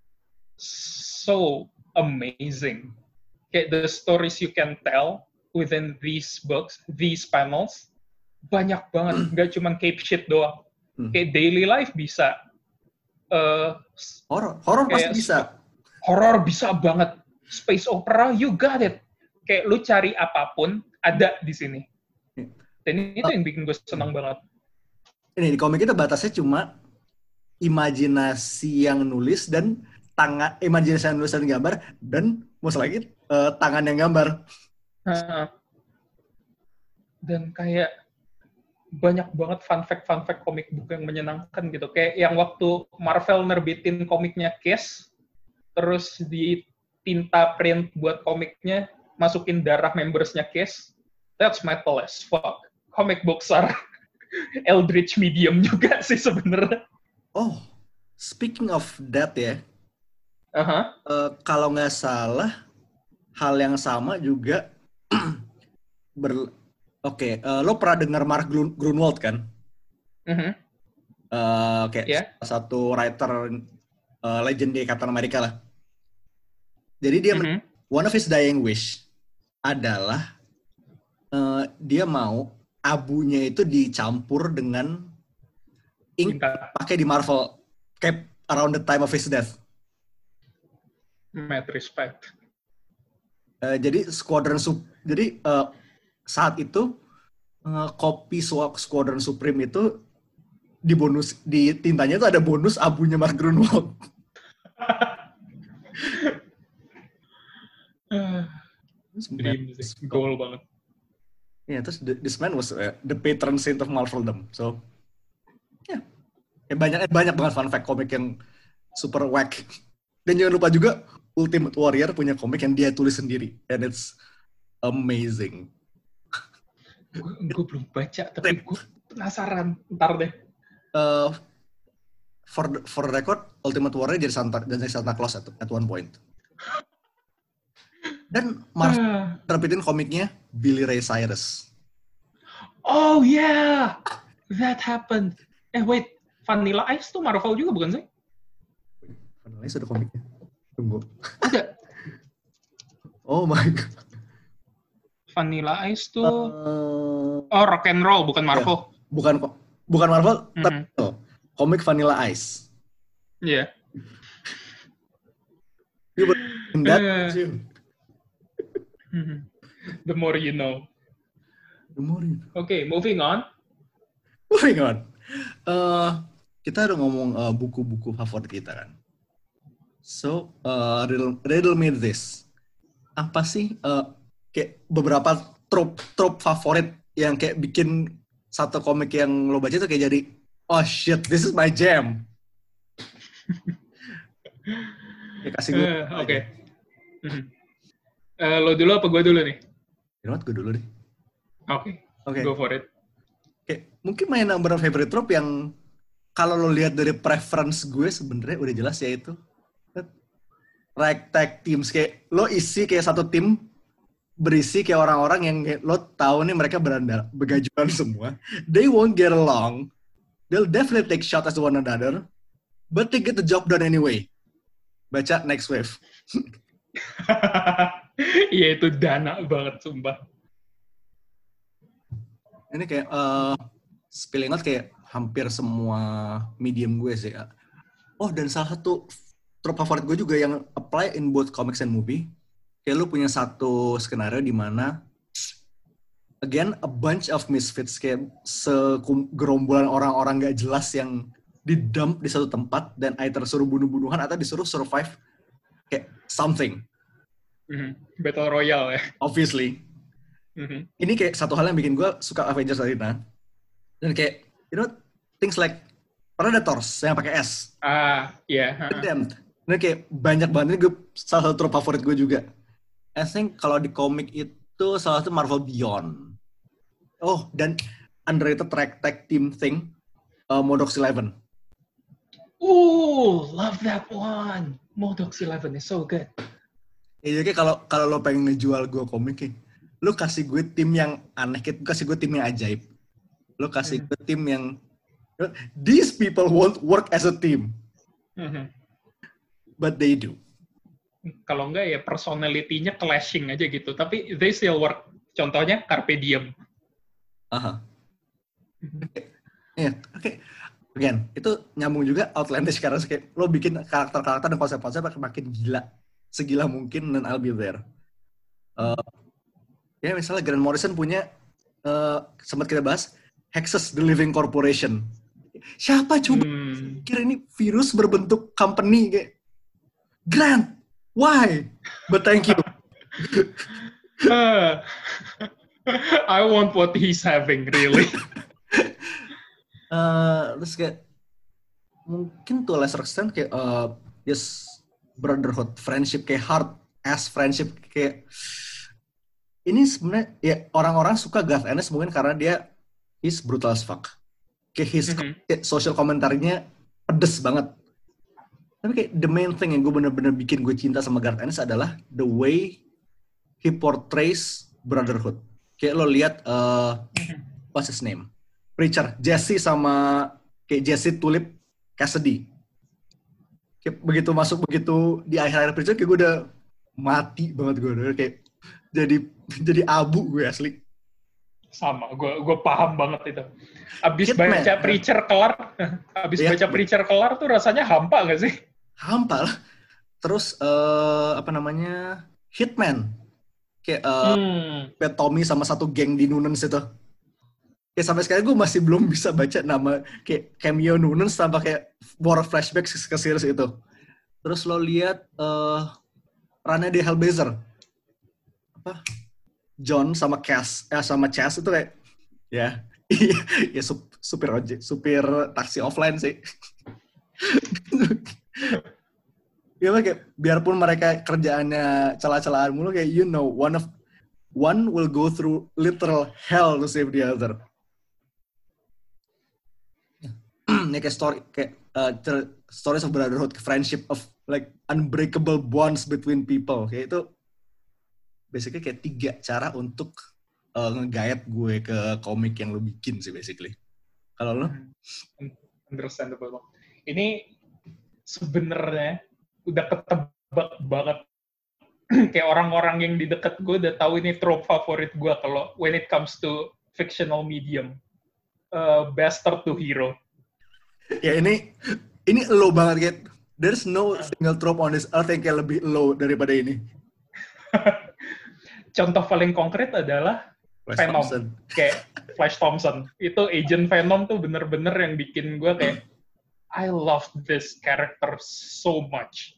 so amazing. Kayak the stories you can tell within these books, these panels, banyak banget. Nggak cuma cape shit doang. Hmm. Kayak daily life bisa. Uh, horror, horror pasti bisa. Horror bisa banget. Space opera, you got it. Kayak lu cari apapun, ada di sini. Dan itu yang bikin gue senang banget. Ini di komik itu batasnya cuma imajinasi yang nulis dan tangan, imajinasi yang nulis dan gambar, dan masalah lagi uh, tangan yang gambar. Dan kayak banyak banget fun fact-fun fact komik book yang menyenangkan gitu. Kayak yang waktu Marvel nerbitin komiknya Kiss, terus di tinta print buat komiknya, masukin darah membersnya Kiss, that's metal as fuck. Comic books are eldritch medium juga sih sebenarnya. Oh, speaking of that ya, Uh-huh. uh, kalau nggak salah, hal yang sama juga ber... Oke, okay, uh, lo pernah dengar Mark Grunwald kan? Uh-huh. Uh, kayak Yeah. salah satu writer uh, legend di Captain America lah. Jadi dia uh-huh. one of his dying wish adalah uh, dia mau abunya itu dicampur dengan ink pakai di Marvel kayak around the time of his death. Mad respect. Uh, jadi Squadron Sup jadi uh, saat itu uh, kopi Squadron Supreme itu di bonus di tintanya itu ada bonus abunya Mark Grunwald. Dream sih, goal banget. Ya, yeah, terus this man was uh, the patron saint of Marveldom. So, ya, yeah. eh, banyak eh, banyak banget fun fact komik yang super whack. Dan jangan lupa juga Ultimate Warrior punya komik yang dia tulis sendiri, and it's amazing. Gue belum baca, tapi gue penasaran. Ntar deh. Uh, for the, for the record, Ultimate Warrior jadi Santa dan jadi Santa Claus at, at one point. Dan Marvel uh. terbitin komiknya Billy Ray Cyrus. Oh yeah, that happened. Eh wait, Vanilla Ice tuh Marvel juga bukan sih? Vanilla Ice ada komiknya. Tunggu. Ada. Oh my god. Vanilla Ice tuh. Uh, oh Rock and Roll bukan Marvel. Ya, bukan bukan Marvel, mm-hmm. tapi oh, komik Vanilla Ice. Iya. Yeah. The more you know. The more you know. Oke, okay, moving on. Moving on. Uh, kita udah ngomong uh, buku-buku favorit kita kan. So, uh, riddle, riddle me this. Apa sih uh, kayak beberapa trope trope favorit yang kayak bikin satu komik yang lo baca tuh kayak jadi oh shit, this is my jam. Ya, kasih gue. Uh, Oke. Okay. Uh, lo dulu apa gue dulu nih? You know what, gue dulu deh. Oke. Okay. Okay. Go for it. Oke, okay. Mungkin main number of favorite trope yang kalau lo lihat dari preference gue sebenarnya udah jelas ya itu. Ragtag teams kayak lo isi kayak satu tim berisi kayak orang-orang yang kayak, lo tahu nih mereka berandal begajuan semua. They won't get along. They'll definitely take shots at one another, but they get the job done anyway. Baca Next Wave. Iya itu dana banget sumpah. Ini kayak uh, spilling out kayak hampir semua medium gue sih. Oh, dan salah satu trope favorit gue juga yang apply in both comics and movie. Kayak lu punya satu skenario di mana again a bunch of misfits kayak segerombolan orang-orang gak jelas yang didump di satu tempat dan either suruh bunuh-bunuhan atau disuruh survive kayak something. Mm-hmm. Battle Royale ya. Obviously. Mm-hmm. Ini kayak satu hal yang bikin gue suka Avengers Arena. Dan kayak, you know, things like Predators yang pakai S. Ah, iya. Yeah. Uh-huh. Dan kayak banyak banget, ini gue salah satu trope favorit gue juga. I think kalau di komik itu salah satu Marvel Beyond. Oh, dan underrated ragtag team thing, uh, Modoc Eleven. Ooh, love that one. Modoc Eleven is so good. Ya, jadi kalau kalau lo pengen ngejual gue komik, lo kasih gue tim yang aneh, kasih gue tim yang ajaib. Lo kasih gue tim yang these people won't work as a team, mm-hmm. but they do. Kalau enggak ya personality-nya clashing aja gitu, tapi they still work. Contohnya Carpe Diem. Aha. Ya, oke. Again, itu nyambung juga outlandish karena kayak lo bikin karakter-karakter dan konsep-konsep makin gila. Segila mungkin dan I'll be there. Uh, ya misalnya Grant Morrison punya uh, sempat kita bahas Hexus the Living Corporation. Siapa coba hmm. kira ini virus berbentuk company kayak Grant, why? But thank you. uh, I want what he's having really. uh, terus kayak mungkin to a lesser extent kayak uh, yes brotherhood, friendship kayak hard as friendship kayak ini sebenarnya ya orang-orang suka Garth Ennis mungkin karena dia he's brutal as fuck. Kayak his Mhm. social komentarnya pedes banget. Tapi kayak the main thing yang gue bener-bener bikin gue cinta sama Garth Ennis adalah the way he portrays brotherhood. Kayak lo lihat uh, what's his name? Preacher, Jesse sama kayak Jesse Tulip Cassidy. Kayak begitu masuk begitu di akhir-akhir Preacher kayak gue udah mati banget gue udah kayak jadi jadi abu gue asli. Sama, gue gue paham banget itu. Abis Hitman, baca kan? Preacher kelar, abis Iya, baca Preacher kelar tuh rasanya hampa nggak sih? hampa lah. Terus uh, apa namanya Hitman, kayak uh, Hmm. Pat Tommy sama satu geng di Noonans itu. Kayak sampai sekarang gue masih belum bisa baca nama kayak cameo Noonans tanpa kayak war flashback ke series itu. Terus lo lihat uh, Rana di Hellblazer, apa John sama Cass, eh sama Chas itu kayak ya ya sup, supir ojek, supir taksi offline sih. Ya kayak biarpun mereka kerjaannya celah-celahan mulu kayak you know one of one will go through literal hell to save the other. Ya kayak story kayak uh, stories of brotherhood, friendship of like unbreakable bonds between people. Kayak itu basically kayak tiga cara untuk uh, nge-guide gue ke komik yang lo bikin sih basically. Kalau lo? Understandable. Ini sebenarnya udah ketebak banget. Kayak orang-orang yang di dekat gue udah tahu ini trope favorit gue kalau when it comes to fictional medium. Uh, bastard to hero. Ya ini ini low banget kayak there's no single trope on this earth yang kayak lebih low daripada ini. Contoh paling konkret adalah Flash Venom. Thompson. Kayak Flash Thompson. Itu Agent Venom tuh bener-bener yang bikin gue kayak I love this character so much.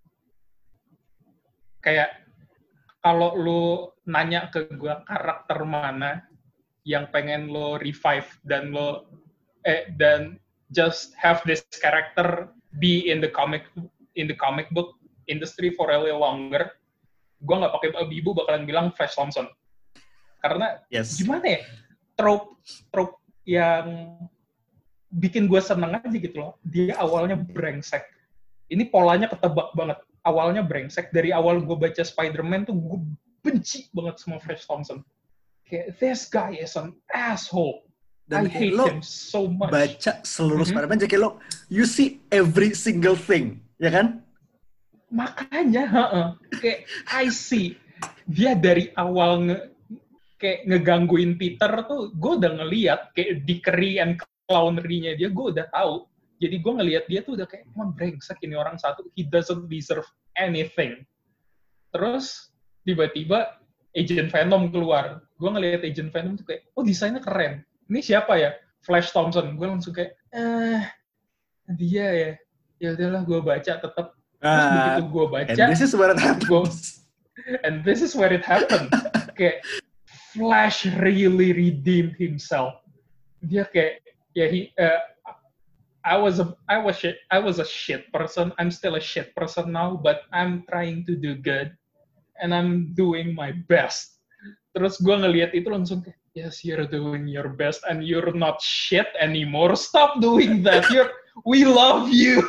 Kayak kalau lu nanya ke gue karakter mana yang pengen lo revive dan lo eh dan just have this character be in the comic in the comic book industry for a little longer, gue nggak pakai ibu bakalan bilang Flash Thompson. Karena yes. Gimana ya, trope trope yang bikin gue seneng aja gitu loh. Dia awalnya brengsek, ini polanya ketebak banget. Awalnya brengsek, dari awal gue baca Spider-Man tuh gue benci banget sama Flash Thompson. Kayak this guy is an asshole. Dan I hate lo him so much. Baca seluruh mm-hmm. Spider-Man, jadi lo you see every single thing, ya kan? Makanya, uh-uh. kayak I see dia dari awal nge, kayak ngegangguin Peter tuh, gue udah ngeliat kayak dickery and clownery-nya dia, gue udah tahu. Jadi gue ngeliat dia tuh udah kayak, emang brengsek ini orang satu, he doesn't deserve anything. Terus tiba-tiba Agent Venom keluar. Gue ngeliat Agent Venom tuh kayak, oh desainnya keren. Ini siapa ya? Flash Thompson. Gue langsung kayak, eh, dia ya. Ya udahlah, gue baca tetap. Terus uh, begitu gue baca, and this is where it happens. Gua, and this is where it happened. Kayak Flash really redeemed himself. Dia kayak, ya he, uh, I was a I was shit I was a shit person. I'm still a shit person now, but I'm trying to do good, and I'm doing my best. Terus gue ngelihat itu langsung kayak, yes, you're doing your best, and you're not shit anymore. Stop doing that. You're, we love you.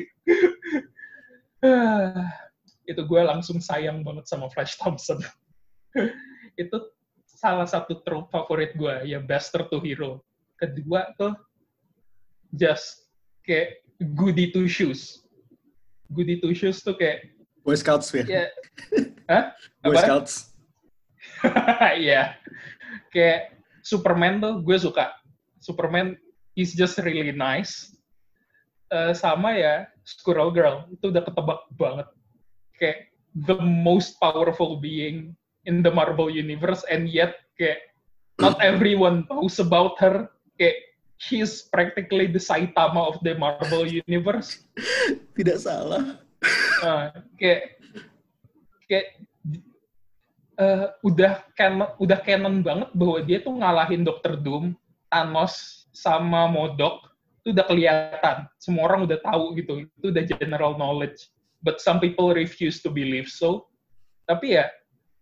Itu gue langsung sayang banget sama Flash Thompson. Itu salah satu trope favorit gue, ya bastard to hero. Kedua tuh just kayak goody two shoes. Goody two shoes tuh kayak Boy Scouts ya. Yeah. Hah? Boy Apa? Scouts. Iya. Kayak Superman tuh gue suka. Superman is just really nice. Uh, sama ya Squirrel Girl, itu udah ketebak banget. Kayak the most powerful being in the Marvel Universe, and yet kayak not everyone knows about her. Kayak she's practically the Saitama of the Marvel Universe. Tidak salah. Uh, kayak kayak uh, udah canon, udah canon banget bahwa dia tuh ngalahin Doctor Doom, Thanos, sama Modok. Itu udah kelihatan. Semua orang udah tahu gitu. Itu udah general knowledge. But some people refuse to believe so. Tapi ya,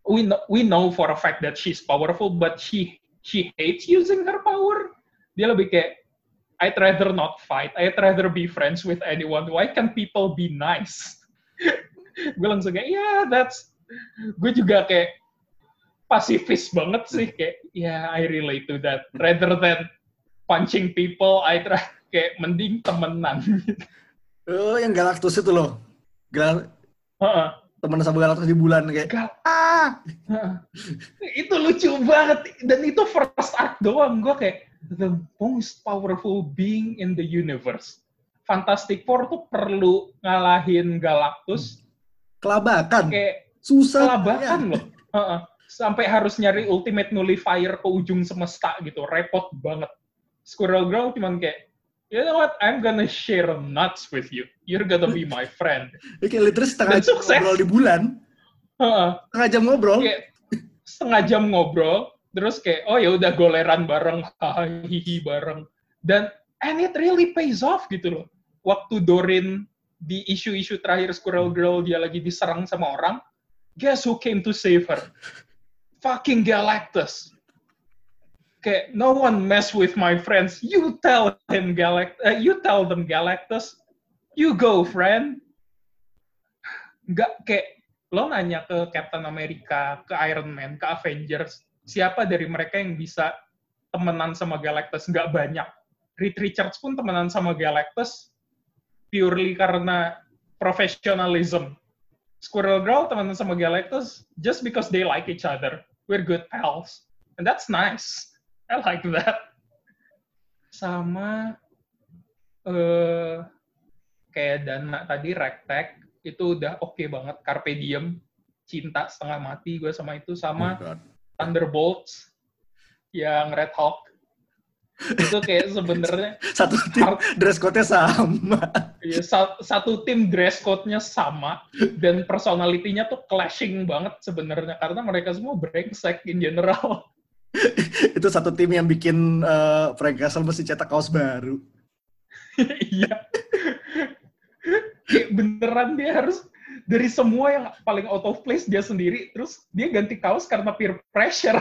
we know, we know for a fact that she's powerful, but she she hates using her power. Dia lebih kayak, I'd rather not fight. I'd rather be friends with anyone. Why can't people be nice? Gue langsung kayak, yeah, that's... Gue juga kayak pasifis banget sih. Kayak, yeah, I relate to that. Rather than punching people, I try kayak mending temenan. Oh, yang Galactus itu loh. Gal Uh-uh. temen sama Galactus di bulan kayak, Gal- ah! uh-uh. Itu lucu banget. Dan itu first arc doang. Gue kayak, the most powerful being in the universe. Fantastic Four tuh perlu ngalahin Galactus. Kelabakan. Kayak Susah. kelabakan Ya. loh. Uh-uh. Sampai harus nyari ultimate nullifier ke ujung semesta gitu. Repot banget. Squirrel Girl cuman kayak, you know what, I'm gonna share nuts with you. You're gonna be my friend. Ya, kayak literally setengah Dan jam sukses. ngobrol di bulan. Uh-uh. Setengah jam ngobrol. Kayak setengah jam ngobrol, terus kayak, oh ya udah goleran bareng, hahihi bareng. Dan, and it really pays off gitu loh. Waktu Dorin di isu-isu terakhir Squirrel Girl, dia lagi diserang sama orang, guess who came to save her? Fucking Galactus. Kayak, no one mess with my friends. You tell him Galact, uh, you tell them Galactus. You go, friend. Nggak kayak, lo nanya ke Captain America, ke Iron Man, ke Avengers, siapa dari mereka yang bisa temenan sama Galactus? Nggak banyak. Reed Richards pun temenan sama Galactus purely karena professionalism. Squirrel Girl temenan sama Galactus just because they like each other. We're good pals. And that's nice. I like that. Sama uh, kayak Dana tadi, Ragtag, itu udah oke okay banget. Carpe Diem, cinta setengah mati gue sama itu. Sama Oh, Thunderbolts, yang Red Hawk. Itu kayak sebenarnya satu tim dress code-nya sama. ya, satu tim dress code-nya sama. Dan personality-nya tuh clashing banget sebenarnya. Karena mereka semua brengsek in general. Itu satu tim yang bikin uh, Frank Castle mesti cetak kaos baru. Iya. Kayak beneran dia harus dari semua yang paling out of place dia sendiri, terus dia ganti kaos karena peer pressure.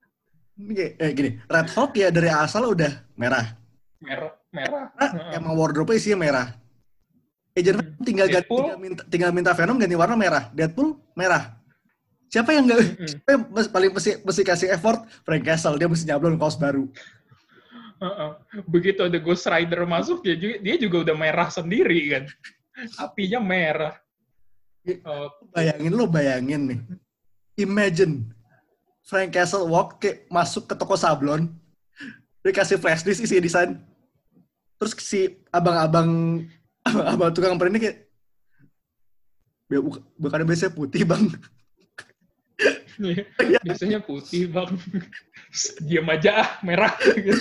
Eh gini, Red Hawk ya dari asal udah merah. Merah, merah. Nah, emang wardrobe-nya isinya merah. Agent Venom tinggal ganti, Deadpool. tinggal minta, tinggal minta Venom ganti warna merah. Deadpool merah. Siapa yang nggak, Mm-mm. siapa yang paling mesti, mesti kasih effort? Frank Castle, dia mesti nyablon kaos baru. Uh-uh. Begitu ada Ghost Rider masuk, dia juga, dia juga udah merah sendiri kan. Apinya merah. Oh, Bayangin lo, bayangin nih. Imagine Frank Castle walk kayak masuk ke toko sablon, dia kasih flash disk isi desain, terus si abang-abang abang tukang print ini kayak, bukannya biasanya putih bang. biasanya putih bang. Diam aja ah, merah.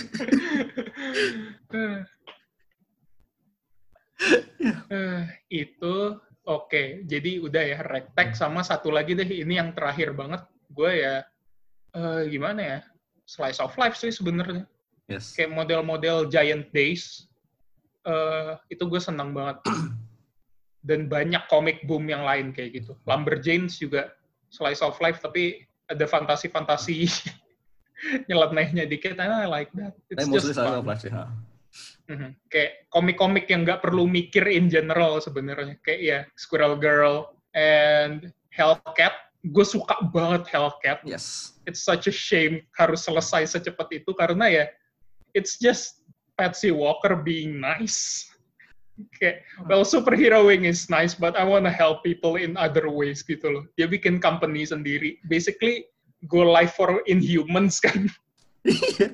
uh, itu oke. Okay. Jadi udah ya, Ragtag sama satu lagi deh, ini yang terakhir banget. Gue ya uh, gimana ya? Slice of life sih sebenarnya. Yes. Kayak model-model Giant Days. Uh, itu gue senang banget. Dan banyak comic boom yang lain kayak gitu. Lumberjanes juga slice of life, tapi ada fantasi-fantasi nyelenehnya dikit. I like that. It's Tapi just mostly slice fun. of life sih. Ha. Mm-hmm. Kayak komik-komik yang nggak perlu mikir in general sebenarnya. Kayak ya Squirrel Girl and Hellcat. Gue suka banget Hellcat. Yes. It's such a shame harus selesai secepat itu karena ya it's just Patsy Walker being nice. Kayak, well, superheroing is nice, but I wanna help people in other ways gitu loh. Dia bikin company sendiri. Basically, go live for Inhumans kan. Iya.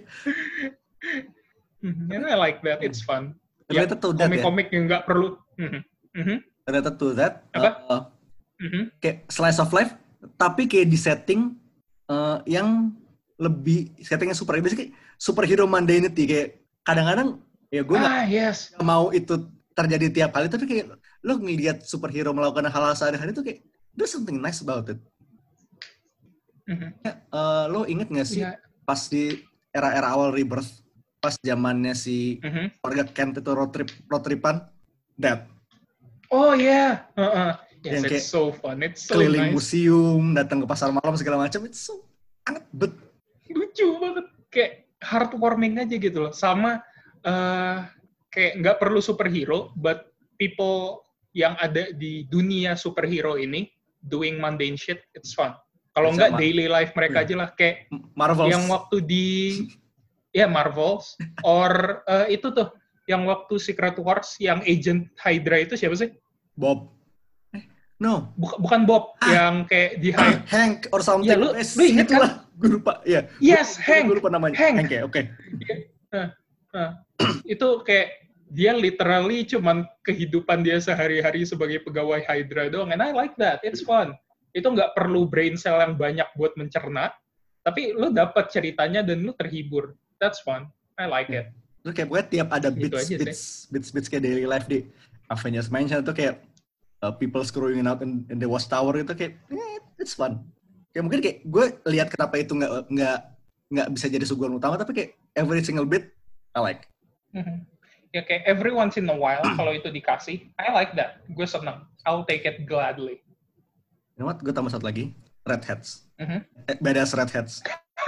And I like that. It's fun. Ternyata Ya, tuh that ya. komik-komik yang nggak perlu. Mhm. Mhm. Ternyata tuh that. Apa? Uh, Mhm. kayak slice of life, tapi kayak di setting uh, yang lebih settingnya super. Biasanya kayak superhero mundanity. Kayak kadang-kadang ya gue nggak Ah, yes. mau itu terjadi tiap kali, tapi kayak lo ngelihat superhero melakukan hal-hal sehari-hari itu kayak there's something nice about it. Mhm. Ya, uh, lo inget nggak sih Ya. pas di era-era awal Rebirth, pas zamannya si Mhm. keluarga Kent itu road trip road tripan, that Oh ya, yeah. Yes, yang kayak it's so fun. It's so keliling nice. museum, datang ke pasar malam segala macam, itu so sangat bet. Lucu banget. Kayak heartwarming aja gitu loh. Sama uh, kayak nggak perlu superhero, but people yang ada di dunia superhero ini doing mundane shit, it's fun. Kalau nggak Sama. daily life mereka Yeah. aja lah, kayak Marvels. yang waktu di ya Marvels or uh, itu tuh yang waktu Secret Wars yang Agent Hydra itu siapa sih? Bob. Eh, no. Buk- bukan Bob, Ah. yang kayak di Hy- Hank or something. Ya, lu- eh, lu inget kan? itulah. Gue lupa. Iya. Yes, Gua- Hank. Gue lupa namanya. Hank. Hank ya, oke. Nah, nah, itu kayak dia literally cuman kehidupan dia sehari-hari sebagai pegawai Hydra doang, and I like that, it's fun. Itu nggak perlu brain cell yang banyak buat mencerna, tapi lu dapat ceritanya dan lu terhibur. That's fun. I like it. Terus kayak pokoknya tiap ada Gitu bits, aja sih. bits, bits, bits kayak daily life di Avengers Mansion itu kayak uh, people screwing out in, in the Watchtower itu kayak, eh, it's fun. Kayak mungkin kayak gue lihat kenapa itu nggak nggak nggak bisa jadi suguhan utama, tapi kayak every single bit I like. Mhm. Ya kayak every once in a while kalau itu dikasih, I like that. Gue seneng. I'll take it gladly. You know what? Gue tambah satu lagi, Red Hats. Mhm. Eh, badass Red Hats.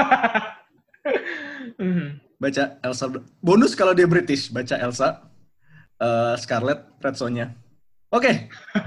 Mhm. Baca Elsa. Bonus kalau dia British, baca Elsa, uh, Scarlet, Red Sonja. Oke.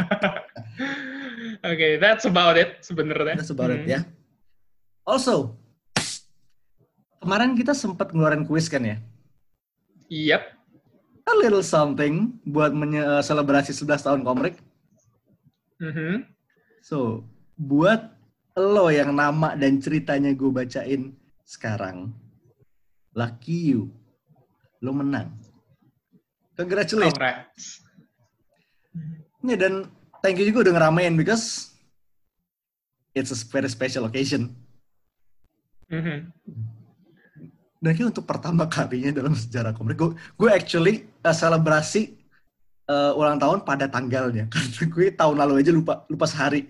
Oke, that's about it sebenarnya. That's about it Mhm. ya. Also, kemarin kita sempat ngeluarin kuis kan ya? Yep. A little something buat menye- uh, selebrasi sebelas tahun Komrik. Mhm. So, buat lo yang nama dan ceritanya gue bacain sekarang, lucky you, lo menang. Congratulations. Congrats. Ya, dan thank you juga udah ngeramein because it's a very special occasion. Mhm. Dan kayak untuk pertama kalinya dalam sejarah komik, gue, gue actually uh, selebrasi uh, ulang tahun pada tanggalnya. Karena gue tahun lalu aja lupa lupa sehari.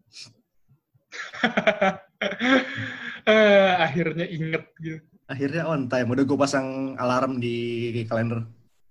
Eh, akhirnya inget gitu. Akhirnya on time. Udah gue pasang alarm di kalender.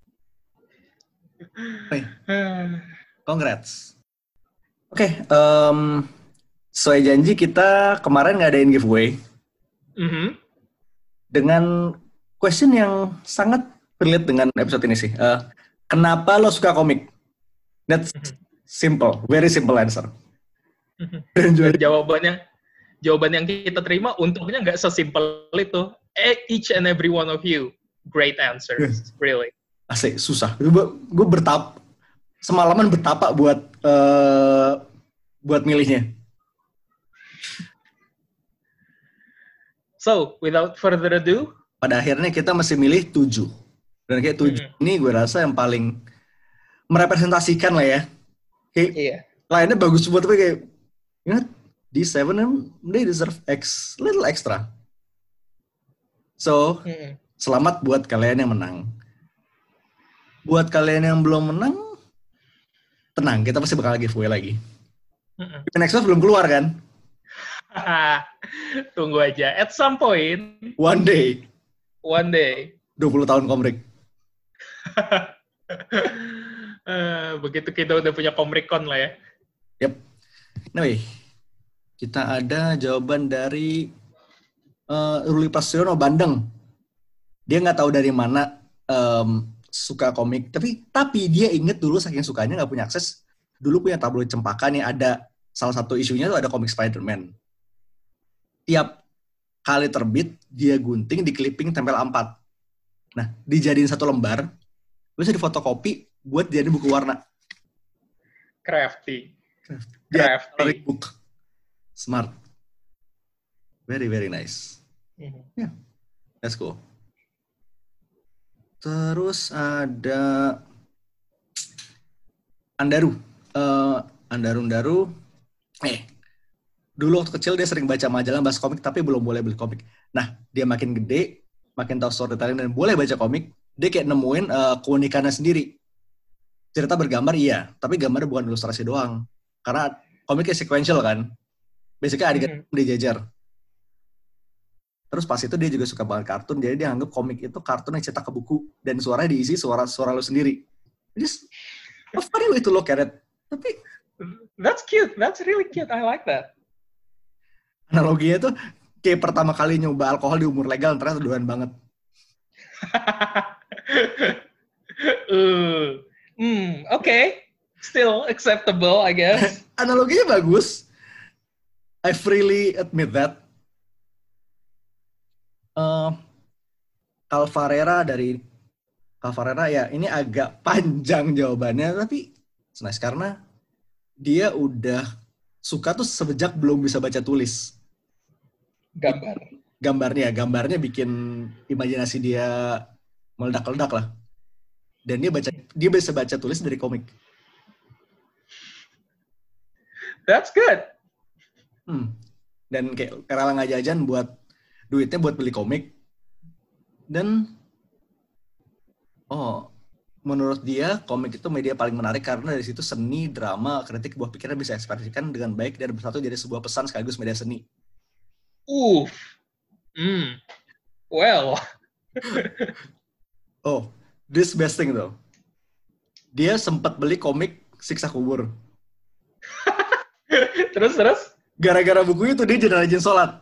Hey, Eh, congrats. Oke, okay, um, sesuai janji kita kemarin ngadain giveaway mhm. dengan question yang sangat relate dengan episode ini sih. Uh, kenapa lo suka komik? That's simple, very simple answer. Dan juga Dan jawabannya, jawaban yang kita terima untungnya nggak sesimpel itu. Eh, Each and every one of you, great answers, really. asik, susah. Gue, gue bertap, semalaman betapa buat uh, buat milihnya. So, without further ado, Pada akhirnya kita masih milih tujuh. Dan kayak tujuh Mhm. ini gue rasa yang paling merepresentasikan lah ya. Kayak iya. lainnya bagus buat tapi kayak, you know, these seven they deserve X, little extra. So, Mhm. selamat buat kalian yang menang. Buat kalian yang belum menang, tenang, kita pasti bakal giveaway lagi. Mhm. Next Wave belum keluar kan? Tunggu aja. At some point, One day, one day, dua puluh tahun komrik. eh, begitu kita udah punya Komrikon lah ya. Yep. Anyway, kita ada jawaban dari uh, Ruli Prasetyono Bandeng. Dia nggak tahu dari mana um, suka komik, tapi tapi dia inget dulu saking sukanya nggak punya akses. Dulu punya tabloid Cempaka nih, ada salah satu isunya tuh ada komik Spider-Man. Tiap kali terbit, dia gunting, di clipping, tempel A empat. Nah, dijadiin satu lembar, bisa difotokopi buat jadi buku warna. Crafty. Dia Crafty. coloring book. Smart. Very, very nice. Mhm. Ya, yeah, let's go. Terus ada Andaru. Uh, Andaru-Andaru. Eh, dulu waktu kecil dia sering baca majalah bahas komik, tapi belum boleh beli komik. Nah, dia makin gede, makin tahu storytelling dan boleh baca komik, dia kayak nemuin uh, keunikannya sendiri. Cerita bergambar iya, tapi gambarnya bukan ilustrasi doang. Karena komiknya sequential kan. Basically adegan Mhm. dijajar. Terus pas itu dia juga suka banget kartun, jadi dia anggap komik itu kartun yang cetak ke buku, dan suaranya diisi suara-suara lo sendiri. Just a funny way to look at it. Tapi That's cute. That's really cute. I like that. Analoginya tuh kayak pertama kali nyoba alkohol di umur legal, ternyata doan banget. uh, hmm, oke. Okay. Still acceptable, I guess. Analoginya bagus. I freely admit that. Uh, Calvarera dari Calvarera ya, ini agak panjang jawabannya, tapi nice karena dia udah suka tuh sejak belum bisa baca tulis. Gambar. Gambarnya, gambarnya bikin imajinasi dia meledak-ledak lah. Dan dia baca, dia bisa baca tulis dari komik. That's good. Hmm. Dan kayak rela nggak jajan buat duitnya buat beli komik. Dan oh, menurut dia komik itu media paling menarik karena dari situ seni, drama, kritik, buah pikirnya bisa ekspresikan dengan baik dan bersatu jadi sebuah pesan sekaligus media seni. Uff. Hmm. Well. Oh, this best thing though. Dia sempat beli komik Siksa Kubur. Terus terus? Gara-gara buku itu dia jadi rajin sholat.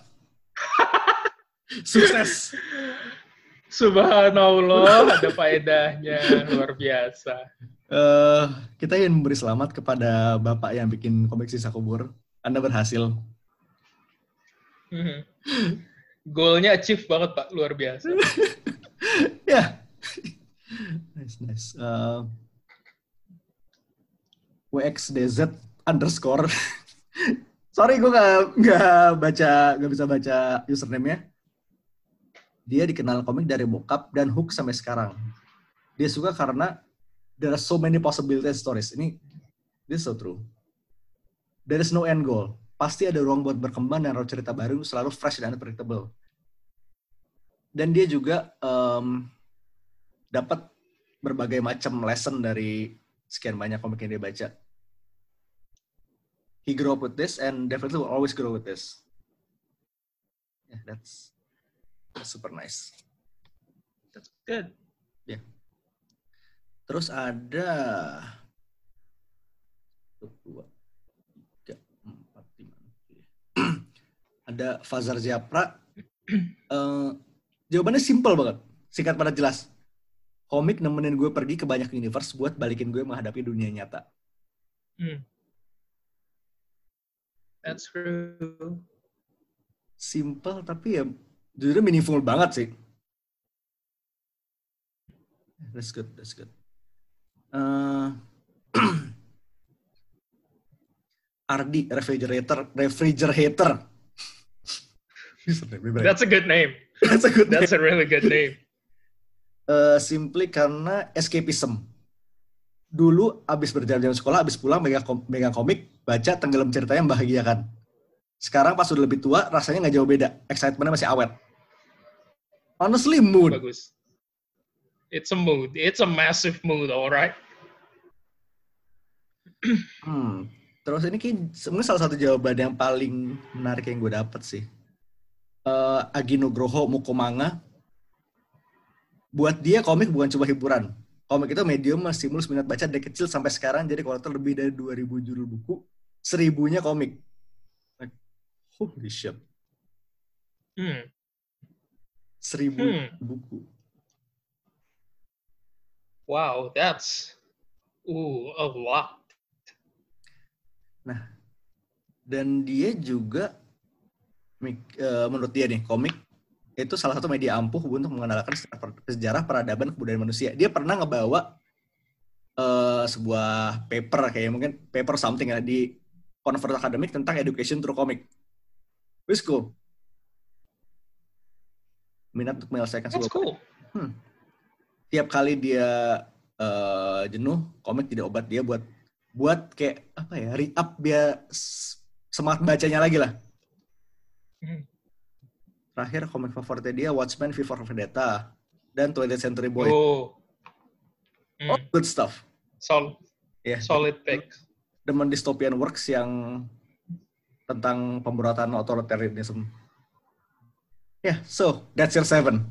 Sukses. Subhanallah, ada faedahnya, luar biasa. Uh, kita ingin memberi selamat kepada Bapak yang bikin komik Siksa Kubur. Anda berhasil. Hmm. Goalnya achieve banget, Pak. Luar biasa. Ya. Yeah. Nice, nice. Uh, W X D Z underscore. Sorry, gue gak, gak baca, gak bisa baca username-nya. Dia dikenal komik dari bokap dan Hook sampai sekarang. Dia suka karena there are so many possibilities stories. Ini, this is so true. There is no end goal. Pasti ada ruang buat berkembang dan road cerita baru selalu fresh dan unpredictable. Dan dia juga um, dapat berbagai macam lesson dari sekian banyak komik yang dia baca. He grew up with this and definitely will always grow with this. Yeah, that's, that's super nice. That's good. Yeah. Terus ada dua, tiga, empat, lima. Ada Fazar Japra. Uh, jawabannya simple banget, singkat padat jelas. Komik nemenin gue pergi ke banyak universe buat balikin gue menghadapi dunia nyata. Hmm. That's true. Simple tapi ya jujur meaningful banget sih. That's good, that's good. Uh, Ardi refrigerator, refrigerator. That's a good name. That's a good. That's name. a really good name. Uh, simply karena escapism. Dulu abis berjam-jam sekolah, abis pulang megang, kom- megang komik, baca tenggelam ceritanya membahagiakan. Sekarang pas udah lebih tua, rasanya nggak jauh beda. Excitementnya masih awet. Honestly, mood. Bagus. It's a mood. It's a massive mood, alright. Hmm. Terus ini kayak sebenarnya salah satu jawaban yang paling menarik yang gue dapet sih. Uh, Agi Nugroho Mukomanga. Buat dia komik bukan cuma hiburan. Komik itu medium stimulus minat baca dari kecil sampai sekarang jadi kolektor lebih dari dua ribu judul buku, seribunya komik. Like, holy shit. Hmm. Seribu Hmm. buku. Wow, that's ooh, a lot. Nah, dan dia juga uh, menurut dia nih, komik itu salah satu media ampuh untuk mengenalkan sejarah peradaban kebudayaan manusia. Dia pernah ngebawa uh, sebuah paper, kayak mungkin paper something ya, di conference akademik tentang education through comic. Which cool. Minat untuk menyelesaikan That's sebuah cool. Hmm. Tiap kali dia uh, jenuh, komik tidak obat dia buat buat kayak apa ya, re-up dia semangat bacanya lagi lah. Hmm. Terakhir komik favoritnya dia Watchmen, V for Vendetta, dan twentieth Century Boy. Oh, Hmm. Oh, good stuff. Solid, yeah. solid pick. Demen dystopian works yang tentang pemberontakan authoritarianism. Yeah, so that's your seven.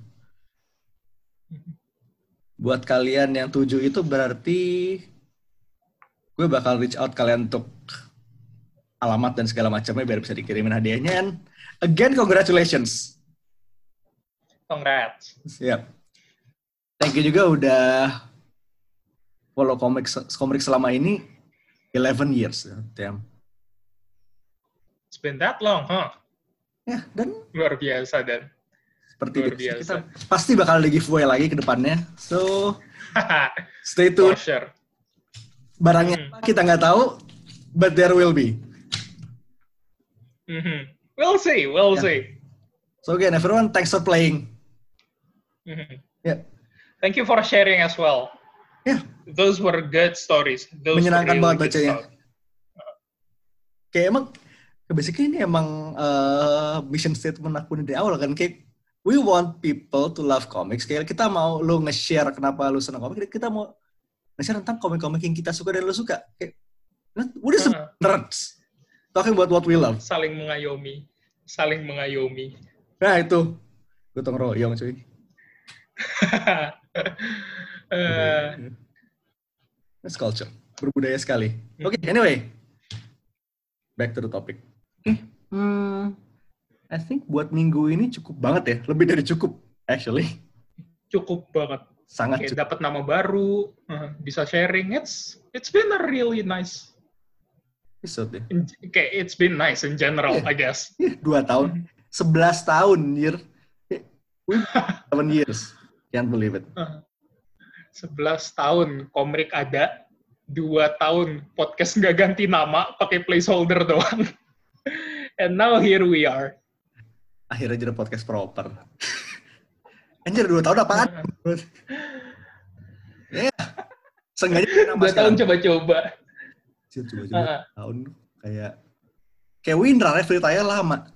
Buat kalian yang tujuh itu berarti gue bakal reach out kalian untuk alamat dan segala macamnya biar bisa dikirimin hadiahnya. And again, congratulations. Congrats. Siap. Thank you juga udah follow komik komik selama ini eleven years. Damn. It's been that long, huh? Ya, dan Luar biasa, Dan. seperti Luar biasa, biasa. kita pasti bakal ada giveaway lagi ke depannya. So, stay For tuned. sure. Barangnya Hmm. apa kita nggak tahu, but there will be. Mm-hmm. We'll see, we'll Yeah. see. So again, everyone, thanks for playing. Mhm. Ya, Thank you for sharing as well. ya, Those were good stories. Those menyenangkan were banget really good bacanya. stories. Kayak emang, basically ini emang uh, mission statement aku dari awal kan, kayak we want people to love comics. Kayak kita mau lu nge-share kenapa lu senang komik, kita mau nge-share tentang komik-komik yang kita suka dan lu suka. Kayak, udah Uh-huh. uh-huh. nerds. Talking about what we love. Saling mengayomi. Saling mengayomi. Nah itu, gotong royong cuy. Eh, That's culture. Berbudaya sekali. Oke, okay, anyway. Back to the topic. Oke, okay. hmm, I think buat minggu ini cukup banget ya. Lebih dari cukup, actually. cukup banget. Sangat Kayak cukup. dapat nama baru, uh, bisa sharing. It's it's been a really nice. Episode ya. in- Kayak it's been nice in general, Yeah. I guess. Yeah, dua tahun. Sebelas tahun, year. Seven years. Can't believe it. Uh, sebelas tahun komik ada, dua tahun podcast nggak ganti nama, pakai placeholder doang. And now here we are. Akhirnya jadi podcast proper. Anjir, dua tahun apaan? Ya, yeah. Seenggaknya nama Dua sekarang. tahun coba-coba. Coba-coba Uh-uh. tahun kayak kayak Windra, Free lama.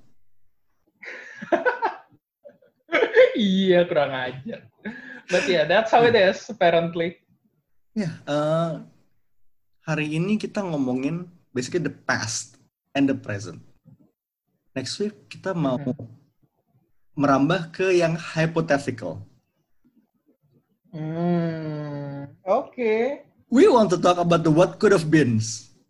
Iya, kurang ajar. But yeah, that's how it is, apparently. Ya, uh, hari ini kita ngomongin basically the past and the present. Next week kita mau Hmm. merambah ke yang hypothetical. Hmm, oke. Okay. We want to talk about the what could have been.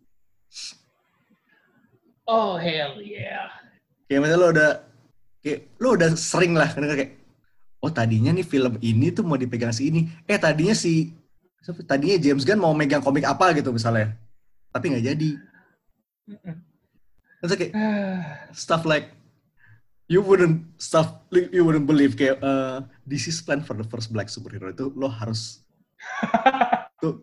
Oh, hell yeah. Kayak misalnya lo udah kayak lo udah sering lah denger kayak oh tadinya nih film ini tuh mau dipegang si ini. Eh tadinya si tadinya James Gunn mau megang komik apa gitu misalnya. Tapi nggak jadi. Terus kayak stuff like you wouldn't stuff you wouldn't believe kayak uh, this is plan for the first black superhero itu lo harus tuh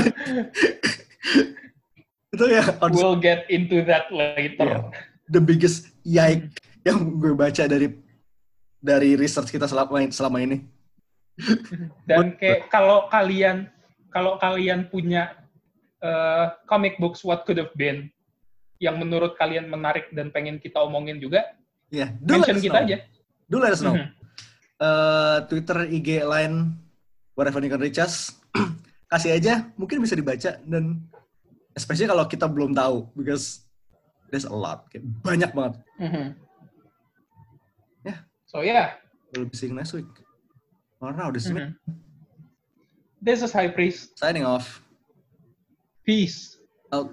itu ya We'll get into that later. Yeah. The biggest yike yang gue baca dari dari research kita selama selama ini. Dan kayak kalau kalian kalau kalian punya uh, comic books what could have been yang menurut kalian menarik dan pengen kita omongin juga, Ya, yeah, mention kita know. aja. Do let us know. Mhm. Uh, Twitter, I G, Line, wherever you can reach us. Kasih aja, mungkin bisa dibaca dan especially kalau kita belum tahu because there's a lot, kayak banyak banget. Mhm. Yeah. So yeah. We'll be seeing next week. Or now, this week. Mhm. This is High Priest. Signing off. Peace. Out.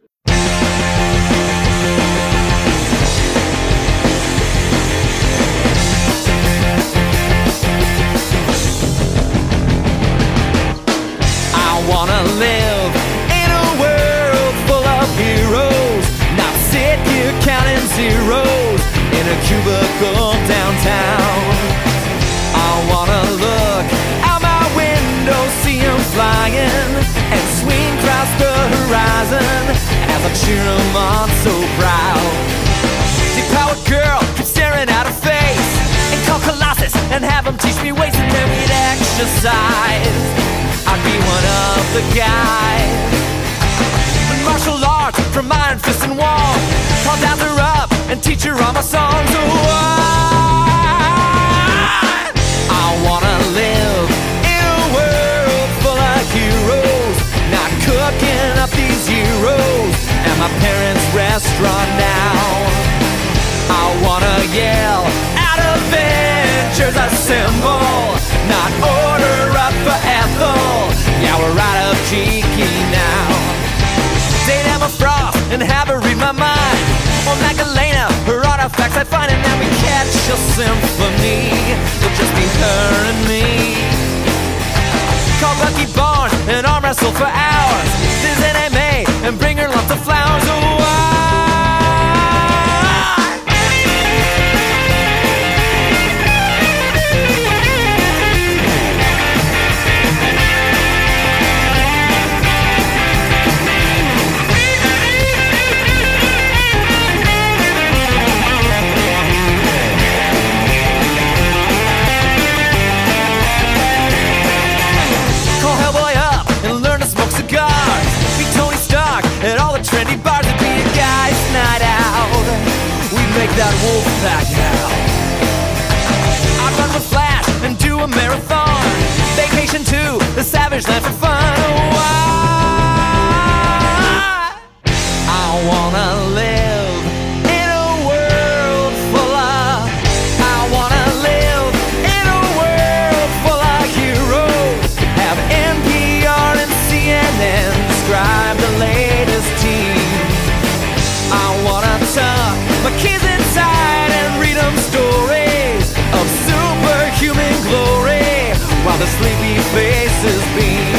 I wanna live in a world full of heroes, not sit here counting zeros in a cubicle downtown. I wanna look out my window, see 'em flying, and swing across the horizon as I cheer 'em on so proud. Deep-powered girl keeps staring at her face, and call Colossus and have him teach me ways, and then we'd exercise. I'd be one of the guys. Martial arts from Iron Fist and Wall, I'll dap her up and teach her all my songs. Oh, I, I wanna live in a world full of heroes, not cooking up these heroes at my parents' restaurant now. I wanna yell out Avengers assemble, not order up for Ethel. Yeah, we're out of cheeky now. Or Magdalena, her artifacts I find, and then we catch a symphony. It'll just be her and me. Call Bucky Barnes and arm wrestle for hours. Visit M A and bring her lots of flowers. Oh, why? At all the trendy bars, it'd be a guy's night out. We'd make that wolf pack now. I'd run with Flash and do a marathon. Vacation to the Savage Land for fun. Why? I wanna live in a world full of. I wanna live in a world full of heroes. Have N P R and C N N describe the latest team. I wanna tuck my kids inside and read them stories of superhuman glory while the sleepy faces beam.